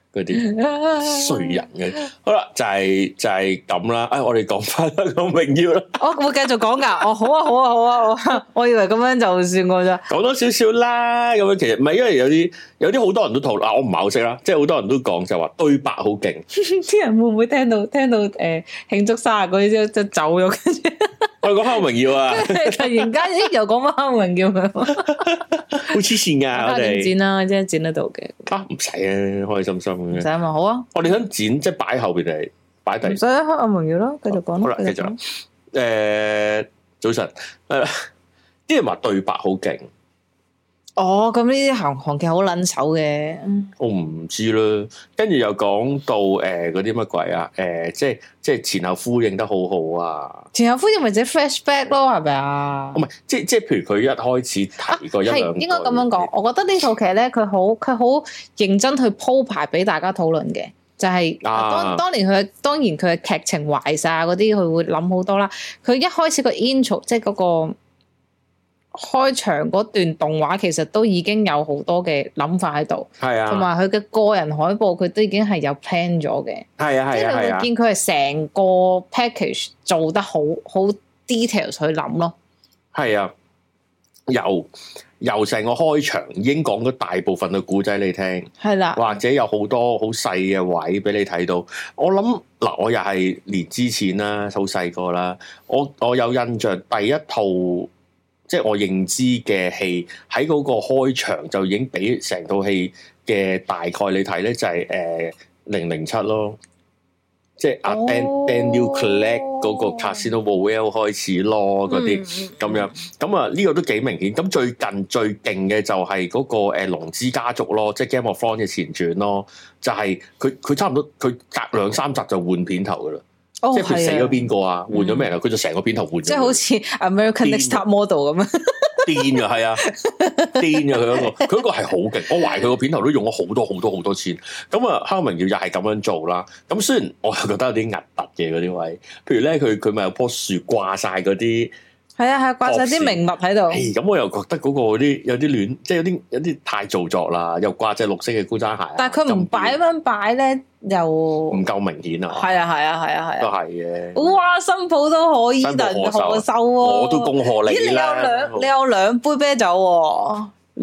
嗰啲衰人嘅。好啦，就係就係咁啦。哎，我哋講翻個榮耀啦。 我會繼續講噶。哦，好啊，好啊，好啊。我我以為咁樣就算過咋。講多少少啦。咁樣其實唔係，因為有啲有啲好多人都討論，我唔係好識啦。即係好多人都講就話對白好勁。啲人會唔會聽到聽到誒慶、呃、祝生日嗰啲就走咗？跟住我哋講翻個榮耀啊！ 突然間又講翻個榮耀， 好黐線噶！我哋剪啦，即係剪得到嘅。 啊，唔使啊，開心心嘅。 唔使嘛，好啊。 我哋想剪，即係擺後邊定擺第？唔使啊，黑暗榮耀咯，繼續講。 好啦，繼續。誒，早晨。誒，啲人話對白好勁。 哦，咁呢啲韓韓劇好撚手嘅， 我唔知啦。跟住又講到誒嗰啲乜鬼啊？誒、呃，即係即係前後呼應得好好啊！ 前後呼應咪即係 flashback 咯，係咪啊？ 唔係，即係即係，譬如佢一開始提過一兩句，係、啊、應該咁樣講。 我覺得呢套劇咧，佢好佢好認真去鋪排俾大家討論嘅，就係、是、當、啊、當年佢當然佢嘅劇情壞晒嗰啲，佢會諗好多啦。佢一開始個 intro 即係嗰個。開場嗰段動畫其實都已經有好多嘅諗法喺度，係啊，同埋佢嘅個人海報佢都已經係有 plan 咗嘅，係啊係啊，即係你會見佢係成個 package 做得好好 details 去諗咯，係啊，由由成個開場已經講咗大部分嘅故仔你聽，係啦，或者有好多好細嘅位俾你睇到。我諗嗱，我又係年之前啦，好細個啦，我我有印象第一套。即係我認知嘅戲喺嗰個開場就已經俾成套戲嘅大概你睇咧，就係誒零零七咯，即係阿 Daniel Craig 嗰個 Casino Royale 開始咯，嗰啲咁樣，咁啊呢個都幾明顯。咁最近最勁嘅就係嗰個誒龍之家族咯，即係 Game of Thrones 嘅前傳咯，就係佢佢差唔多佢隔兩三集就換片頭噶啦。Oh, 即係佢死咗邊個啊？換咗咩人啊？佢就成個片頭換咗。即係好似 American Next Top Model 咁樣。癲噶係啊，癲噶佢嗰個，佢嗰個係好勁。我懷疑佢個片頭都用咗好多好多好多錢。咁啊，《黑暗榮耀》又係咁樣做啦。咁雖然我係覺得有啲核突嘅嗰啲位，譬如咧，佢佢咪有棵樹掛晒嗰啲。係啊係啊，掛晒啲名物喺度。咁我又覺得嗰個啲有啲亂，即係有啲有啲太做作啦。又掛隻綠色嘅高踭鞋。但係佢唔擺咁樣擺咧，又唔夠明顯啊。係啊係啊係啊係啊，都係嘅。哇，新抱都可以，但係何收喎？我都恭賀你啦。咦，你有兩你有兩杯啤酒喎？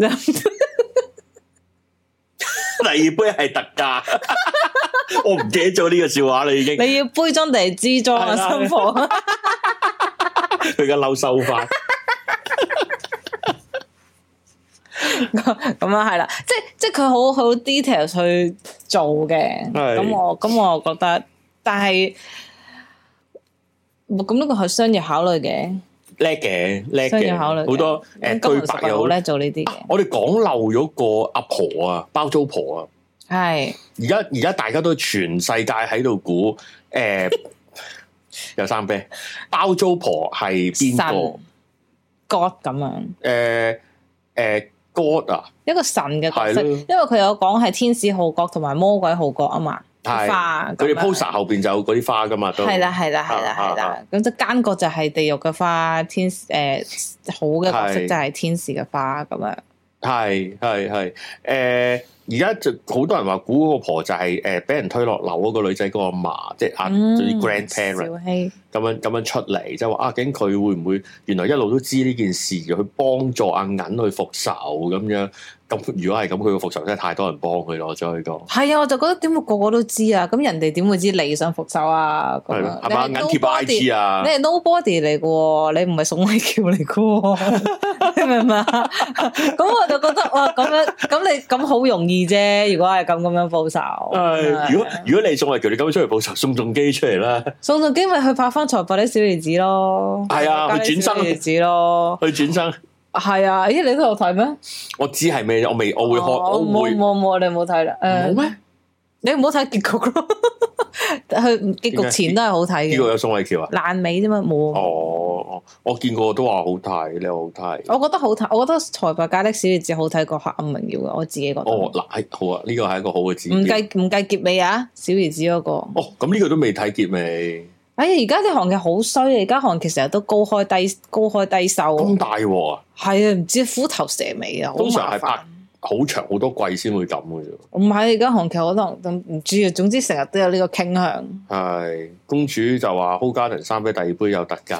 第二杯係特價。我唔記得咗呢個笑話啦，已經。你要杯裝定係支裝啊，新抱？佢而家嬲收翻，咁樣係啦，即係即係佢好好 detail 去做嘅，咁我咁我覺得，但係咁呢個係商業考慮嘅，叻嘅叻嘅，商業考慮好多誒對白又好叻做呢啲嘅。我哋講漏咗個阿婆啊，包租婆啊，係而家而家大家都全世界喺度估誒。有三啤，包租婆係邊個 God 咁樣？誒誒 God 啊，一個神嘅角色，因為佢有講係天使號角同埋魔鬼號角啊嘛，花佢哋 poster 後邊就有嗰啲花噶嘛，都係啦係啦係啦係啦，咁即奸角就係地獄嘅花，天誒、呃、好嘅角色就係天使嘅花咁樣，係係係誒。而家就好多人話估嗰個婆就係誒俾人推落樓嗰個女仔嗰個阿嫲，即係阿啲 grandparent 咁樣咁樣出嚟，即係話啊，究竟佢會唔會原來一路都知呢件事，去幫助阿銀去復仇咁樣？咁如果係咁，佢個復仇真係太多人幫佢咯，再講係啊，我就覺得點會個個都知啊？咁人哋點會知你想復仇啊？係咯，係嘛？銀貼 I G 啊，你係 nobody 嚟嘅，你唔係宋慧喬嚟嘅，你明唔明啊？咁我就覺得哇，咁樣咁你咁好容易啫。如果係咁咁樣報仇，係如果如果你宋慧喬，你咁樣出嚟報仇，宋仲基出嚟啦，宋仲基咪去拍翻《財閥的小兒子》咯，係啊，去轉生兒子咯，去轉生。係啊，咦？你都有睇咩？我知係咩，我未，我會開，我冇冇冇，你冇睇啦。誒，冇咩？你唔好睇結局咯。佢結局前都係好睇嘅。結局有宋慧喬啊？爛尾啫嘛，冇。哦，我見過都話好睇，你話好睇。我覺得好睇，我覺得《財閥家的小兒子》好睇過《黑暗榮耀》嘅，我自己覺得。哦，嗱，好啊，呢個係一個好嘅指標。唔計唔計結尾啊？小兒子嗰個。哦，咁呢個都未睇結尾。哎呀，而家啲韓劇好衰啊！而家韓劇成日都高開低高開低收，咁大鑊啊！係啊，唔知虎頭蛇尾啊，通常係拍好長好多季先會咁嘅啫。 唔係而家韓劇可能都唔知啊，總之成日都有呢個傾向。 係公主就話 Hoegaarden 三杯第二杯有特價。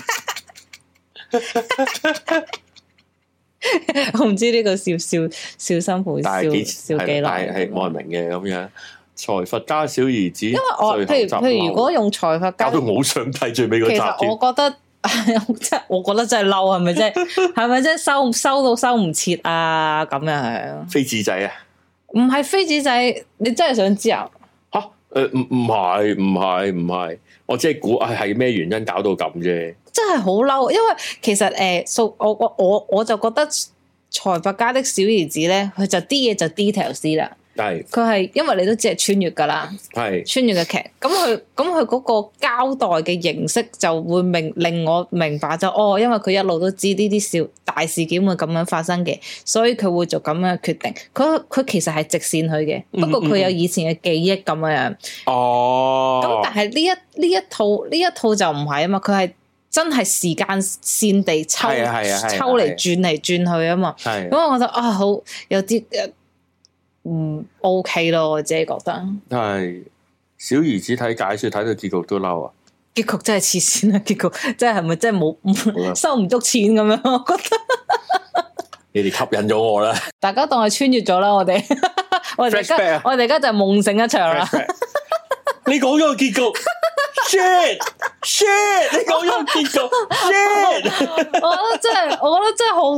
我唔知呢個笑笑笑辛苦笑笑幾耐， 係冇人明嘅咁樣。財閥家小兒子，因為我譬如譬如如果用財閥家， 搞到我好想睇最尾嗰集。 其實我覺得，即係我覺得真係嬲，係咪啫？係咪啫？收收到收唔切啊？咁樣飛紙仔啊？ 唔係飛紙仔，你真係想知啊？ 吓？誒，唔唔係唔係唔係，我只係估係係咩原因搞到咁啫？ 真係好嬲，因為其實誒，數、呃、我我我我就覺得財閥家的小兒子咧，佢就啲嘢就 detail 啲啦。係佢係因為你都知係穿越噶啦，係穿越嘅劇，咁佢咁佢嗰個交代嘅形式就會明令我明白就哦，因為佢一路都知呢啲小大事件會咁樣發生嘅，所以佢會做咁樣嘅決定。佢佢其實係直線去嘅，不過佢有以前嘅記憶咁樣。哦，咁但係呢一呢一套呢一套就唔係啊嘛，佢係真係時間線地抽抽嚟轉嚟轉去啊嘛。咁我覺得啊，好有啲。嗯 ，OK 咯，我自己覺得係小兒子睇解說睇到結局都嬲啊！ 結局真係黐線啊！結局真係係咪真係冇收唔足錢咁樣？我覺得你哋吸引咗我啦！ 大家當係穿越咗啦，我哋我哋而家我哋而家就係夢醒一場啦！ 你講咗個結局，shit shit， 你講咗個結局，shit， 我覺得真係，我覺得真係好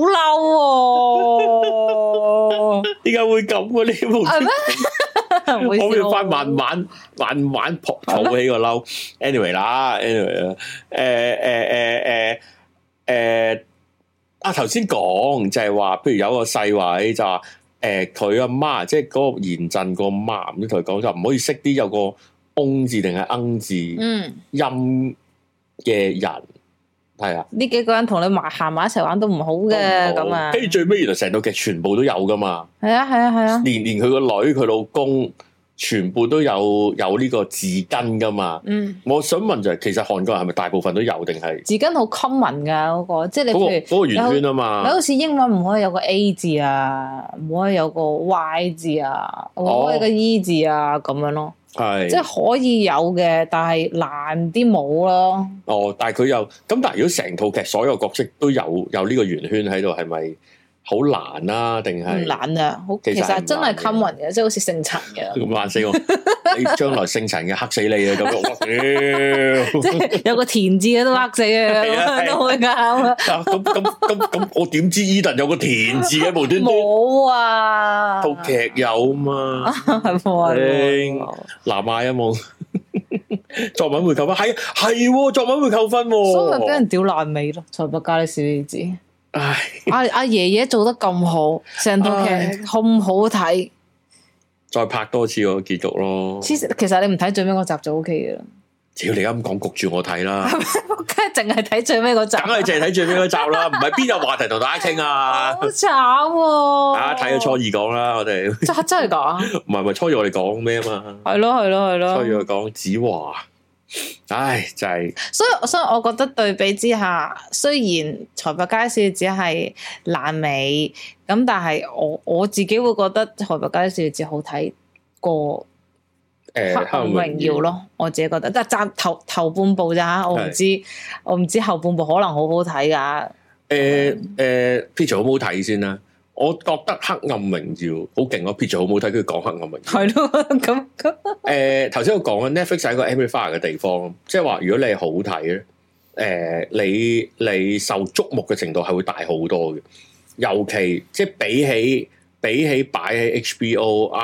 嬲喎！ 點解會咁嘅呢部？ 係咩？ 我要翻慢慢慢慢抱抱起個嬲。anyway 啦 ，anyway 啦，誒誒誒誒誒，啊頭先講就係話，譬如有個細位就話，誒佢阿媽即係嗰個賢鎮個媽，咁同佢講就唔可以識啲有個翁字定係鶯字音嘅人。係啊，呢幾個人同你埋行埋一齊玩都唔好嘅咁啊。 跟住最尾原來成套劇全部都有噶嘛。 係啊係啊係啊， 連連佢個女佢老公全部都有有呢個字根噶嘛。嗯，我想問就係、是，其實韓國人係咪大部分都有定係字根好 common 噶嗰個，即係你譬如嗰、 那個圓、那個、圈啊嘛。 你好似英文唔可以有個 A 字啊，唔可以有個 Y 字啊，唔、哦、可以有個 E 字啊咁樣咯。係，即係可以有嘅，但係難啲冇咯。 哦，但係佢又咁，但係如果成套劇所有角色都有有呢個圓圈喺度，係咪好難啊？定係唔難啊？好，其實真係 common 嘅，即係好似姓陳嘅。咁難死我！你將來姓陳嘅黑死你啊！咁樣， 即係有個田字嘅都黑死啊！都會啱。 咁咁咁咁，我點知 Eden 有個田字嘅無端端？ 冇啊！ 套劇有嘛？ 係喎。 南亞有冇作文會扣分？係係，作文會扣分， 所以咪俾人屌爛尾咯。財閥家的小兒子，唉，阿阿爺爺做得咁好，成套劇好唔好睇？ 再拍多次個結局咯。 其實你唔睇最尾嗰集就 O K 嘅啦。 只要你咁講，焗住我睇啦。 梗係淨係睇最尾嗰集， 梗係淨係睇最尾嗰集啦。唔係邊有話題同大家傾啊？ 好慘喎！ 大家睇咗初二講啦，我哋真真係講， 唔係唔係初二我哋講咩啊嘛？ 係咯係咯係咯。初二我講子華，唉，就係、是。 所以所以我覺得對比之下，雖然財閥家小兒子係爛尾，咁但係我我自己會覺得財閥家小兒子好睇過。誒，黑暗榮耀咯，我自己覺得，但係暫頭頭半部咋吓，我唔知，我唔知後半部可能好好睇噶。 誒誒，Peach 好唔好睇先啦？我覺得黑暗榮耀好勁咯，Peach 好唔好睇？佢講黑暗榮耀係咯，咁咁。 誒，頭先我講嘅 Netflix 係一個 amplifier 嘅地方，即係話如果你係好睇咧，誒，你你受矚目嘅程度係會大好多嘅，尤其即係比起比起擺喺 H B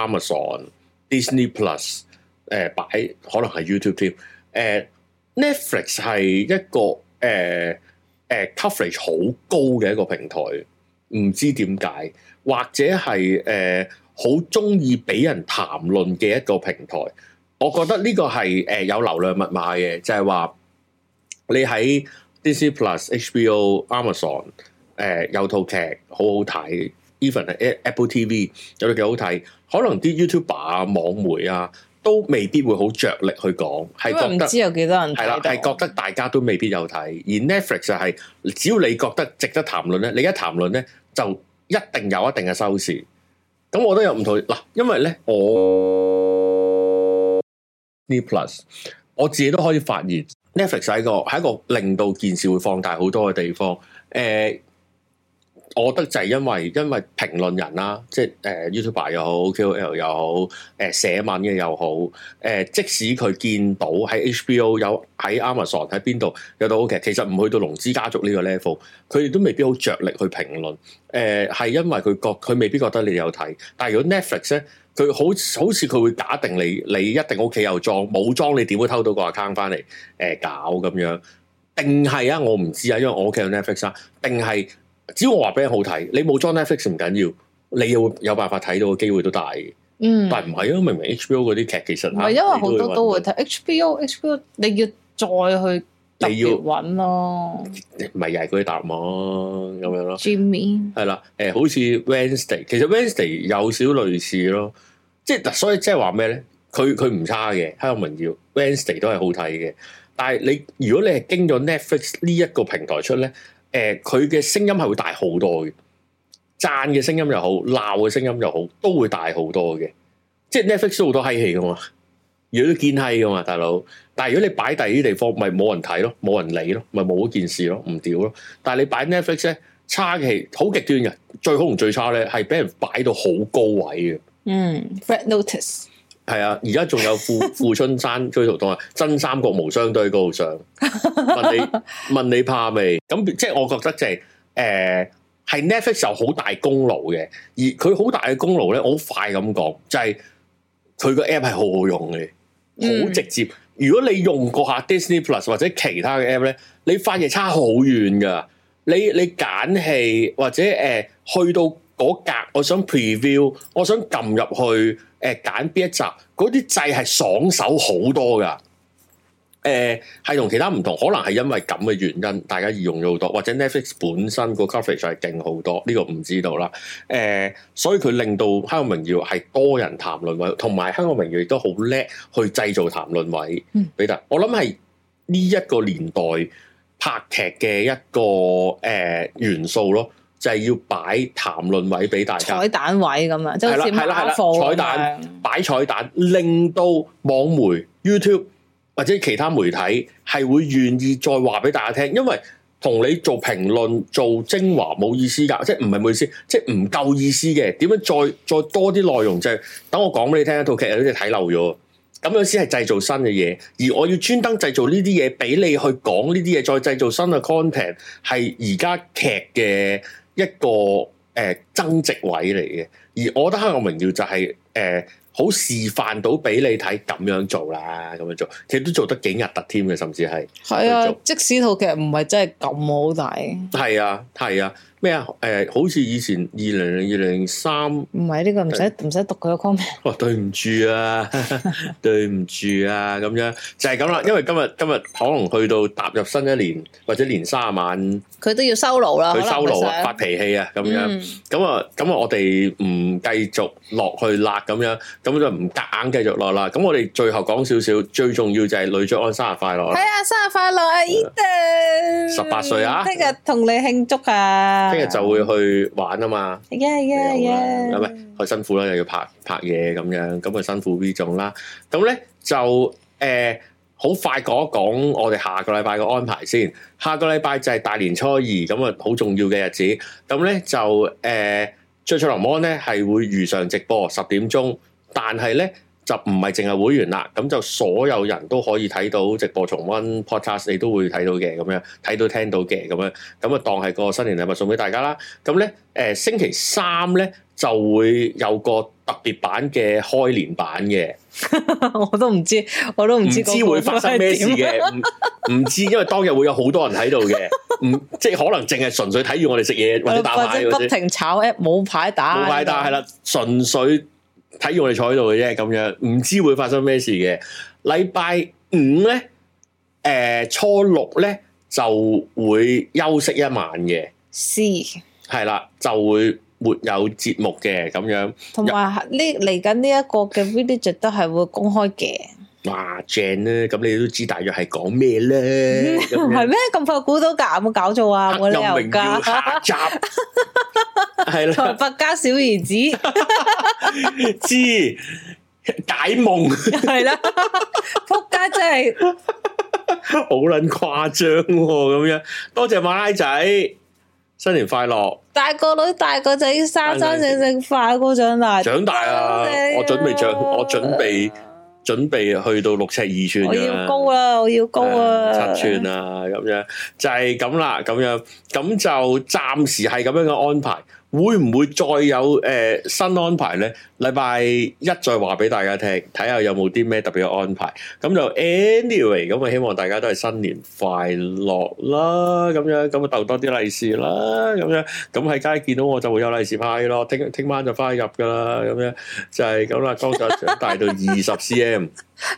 O、Amazon、Disney Plus。誒、呃、擺可能係 YouTube 添，誒、呃、Netflix 係一個誒誒、呃呃、coverage 好高嘅一個平台，唔知點解，或者係誒好中意俾人談論嘅一個平台。我覺得呢個係誒、呃、有流量密碼嘅，就係、是、話你喺 Disney Plus、H B O、Amazon 誒、呃、有套劇好好睇 ，even 係 Apple T V 有套劇好睇，可能啲 YouTuber 啊、網媒啊。都未必會好着力去講，係覺得唔知有幾多人睇到， 係啦，係覺得大家都未必有睇。而 Netflix 就係、是、只要你覺得值得談論咧，你一談論咧就一定有一定嘅收視。 咁我都有唔同嗱，因為咧我呢 Plus 我自己都可以發現 Netflix 係一個係一個令到件事會放大好多嘅地方。誒、呃，我覺得就係因為因為評論人啦，即係誒、呃、YouTuber 又好 K O L 又好，誒、呃、寫文嘅又好，誒、呃、即使佢見到喺 H B O 有喺 Amazon 喺邊度有套劇，其實唔去到龍之家族呢個 level，佢哋都未必好着力去評論。誒、呃、係因為佢覺佢未必覺得你有睇，但係如果 Netflix 咧，佢好好似佢會假定你你一定屋企有裝，冇裝你點會偷到個 account 翻嚟誒搞咁樣？定係啊？我唔知啊，因為我屋企有 Netflix 啊，定係只要我話俾你好睇，你冇裝 Netflix 唔緊要，你有有辦法睇到嘅機會都大嘅。嗯，但係唔係啊？明明 H B O 嗰啲劇其實唔係，因為好多都會睇 H B O，H B O 你要再去特別揾咯，唔係又係嗰啲答案咁樣咯。Jimmy 係啦，誒、呃、好似 Wednesday，其實 Wednesday 有少類似咯，即係所以即係話咩咧？佢佢唔差嘅，《香港榮耀》Wednesday 都係好睇嘅。但係你如果你係經咗 Netflix 呢一個平台出咧，誒佢嘅聲音係會大好多嘅，讚嘅聲音又好，鬧嘅聲音又好，都會大好多嘅。即係 Netflix 都好多閪戲噶嘛，如果都見閪噶嘛，大佬。但係如果你擺第二啲地方，咪冇人睇咯，冇人理咯，咪冇嗰件事咯，唔屌咯。但係你擺 Netflix 咧，差嘅戲好極端嘅，最好同最差咧係俾人擺到好高位嘅。嗯 ，Red Notice 係啊，而家仲有富富春山居圖當啊，真三國無雙都喺高上。問你問你怕未？咁即係我覺得就係、是、誒，係、呃、Netflix 有好大功勞嘅，而佢好大嘅功勞咧，我好快咁講，就係佢個 app 係好好用嘅，好直接。嗯、如果你用過下 Disney Plus 或者其他嘅 app 咧，你發現差好遠噶。你你揀戲或者誒、呃、去到嗰格，我想 preview，我想撳入去誒揀邊一集，嗰啲掣係爽手好多噶。誒係同其他唔同，可能係因為咁嘅原因，大家易用咗好多，或者 Netflix 本身個 coverage 係勁好多，呢、這個唔知道啦。誒、呃，所以佢令到《香港榮耀》係多人談論位，同埋《香港榮耀》亦都好叻去製造談論位。嗯，俾得我諗係呢一個年代拍劇嘅一個誒、呃、元素咯，就係、是、要擺談論位俾大家，彩蛋位咁啊，即係好似馬貨彩蛋擺彩蛋，令到網媒 YouTube。或者其他媒體係會願意再話俾大家聽，因為同你做評論做精華冇意思㗎，即係唔係冇意思，即係唔夠意思嘅。點樣再再多啲內容就係、是、等我講俾你聽一套劇，有啲睇漏咗，咁樣先係製造新嘅嘢。而我要專登製造呢啲嘢俾你去講呢啲嘢，再製造新嘅 content，係而家劇嘅一個誒、呃、增值位嚟嘅。而我覺得《香港榮耀》就係、是、誒。呃好示範到俾你睇咁樣做啦，咁樣做，其實都做得幾核突添嘅，甚至係係啊，即使套劇唔係真係咁好睇，係啊，係啊。咩啊？誒、呃，好似以前二零二零三，唔係呢個唔使唔使讀佢個 comment。哦，對唔住啊，對唔住啊，咁樣就係咁啦。因為今日今日可能去到踏入新一年或者年卅晚，佢都要收爐啦，佢收爐啊，發脾氣啊，咁樣咁啊，咁啊，我哋唔繼續落去辣咁樣，咁就唔夾硬繼續落啦。咁我哋最後講少少，最重要就係呂爵安生日快樂。係啊，生日快樂啊 Eden 十八歲啊，聽日同你慶祝啊！聽日就會去玩啊嘛，係啊係啊係啊，係咪好辛苦啦？又要拍拍嘢咁樣，咁啊辛苦呢種啦。咁咧就誒好快講一講我哋下個禮拜嘅安排先。下個禮拜就係大年初二，咁啊好重要嘅日子。咁咧就誒最出林安咧係會如常直播十點鐘，但係咧就唔係淨係會員啦，咁就所有人都可以睇到直播重溫 podcast，你都會睇到嘅，咁樣睇到聽到嘅，咁樣咁啊當係個新年禮物送俾大家啦。咁咧誒星期三咧就會有個特別版嘅開年版嘅，我都唔知，我都唔知唔知會發生咩事嘅，唔唔知，因為當日會有好多人喺度嘅，唔即係可能淨係純粹睇住我哋食嘢或者打牌，或者不停炒 app 冇牌打，冇牌打係啦，純粹。睇住我哋坐喺度嘅啫，咁樣唔知會發生咩事嘅。禮拜五咧，誒、呃、初六咧就會休息一晚嘅，是係啦，就會沒有節目嘅咁樣。同埋呢嚟緊呢一個嘅 video 都係會公開嘅。哇正咧，咁你都知大約係講咩咧？係咩咁快估到㗎？有冇搞錯啊？冇理由㗎。下集係啦， 財閥加小兒子， 知解夢係啦，仆街真係好撚誇張咁樣。多謝馬拉仔，新年快樂！ 大個女大個仔，生生性性快過長大， 長大啊！我準備長，我準備。準備去到六尺二寸，我要高啦，我要高啊， 七寸啊，咁樣就係咁啦，咁樣咁就暫時係咁樣嘅安排。會唔會再有誒、呃、新安排咧？禮拜一再話俾大家聽，睇下有冇啲咩特別嘅安排。咁就 anyway，咁啊希望大家都係新年快樂啦，咁樣咁啊逗多啲利是啦，咁樣咁喺街見到我就會有利是派咯。聽聽晚就翻去入噶啦，咁樣就係咁啦。剛才長大到二十 cm。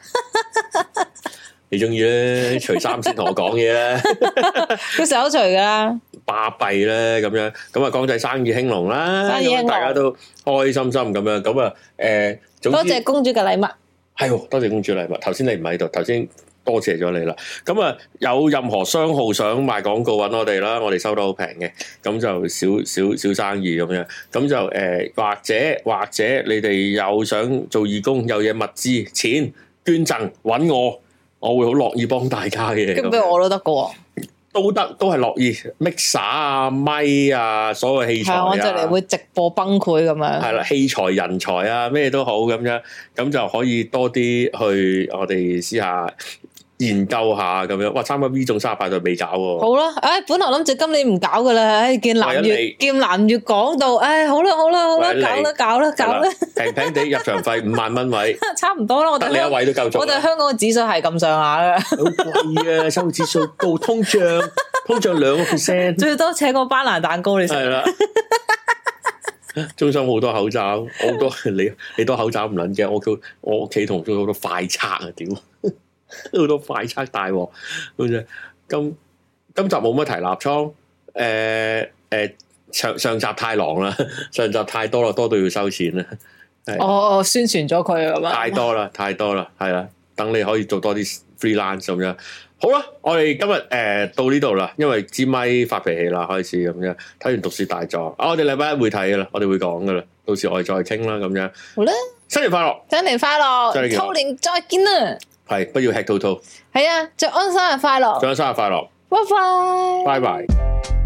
你中意咧？除衫先同我講嘢咧， 佢成日都除噶， 巴閉咧咁樣，咁啊江仔生意興隆啦，生意興隆，大家都開開心心咁樣，咁啊誒，多謝公主嘅禮物， 係，多謝公主禮物。頭先你唔喺度，頭先多謝咗你啦。咁啊，有任何商號想賣廣告揾我哋啦，我哋收得好平嘅，咁就少少少生意咁樣，咁就誒、呃、或者或者你哋有想做義工，有嘢物資錢捐贈揾我。我會好樂意幫大家嘅， 咁俾我都得噶喎， 都得，都係樂意 mixer 啊、咪啊，所有器材啊， 我就嚟會直播崩潰咁樣， 係啦，器材人才啊，咩都好咁樣，咁就可以多啲去我哋試下研究下咁樣。哇，參加 V 眾三十八就未搞喎， 好啦，唉、哎，本來諗住今年唔搞噶啦，唉，見南粵見南粵講到，唉、哎，好啦好啦好啦，搞啦搞啦搞啦， 平平地入場費五萬蚊位， 差唔多啦，我哋你一位都夠咗， 我哋香港嘅指數係咁上下噶， 好貴啊，生活指數高，通脹通脹兩個 percent，最多請個班蘭蛋糕你食，係啦， 中心好多口罩，好多你你多口罩唔撚驚，我叫我屋企同中好多快測啊，屌！好多快測大鑊，好似今今集冇乜提立倉，誒、呃、誒、呃、上上集太狼啦，上集太多啦，多到要收錢啦。 哦哦，宣傳咗佢啊嘛， 太多啦，太多啦，係啦，等你可以做多啲 freelance 咁樣。好啦，我哋今日誒、呃、到呢度啦，因為支咪發脾氣啦，開始咁樣睇完《毒舌大狀》啊，我哋禮拜一會睇噶啦，我哋會講噶啦，到時我哋再傾啦，咁樣。好啦，新年快樂，新年快樂，兔年再見啦。係，不要吃兔兔。係啊，祝安生日快樂！祝安生日快樂！拜拜！拜拜！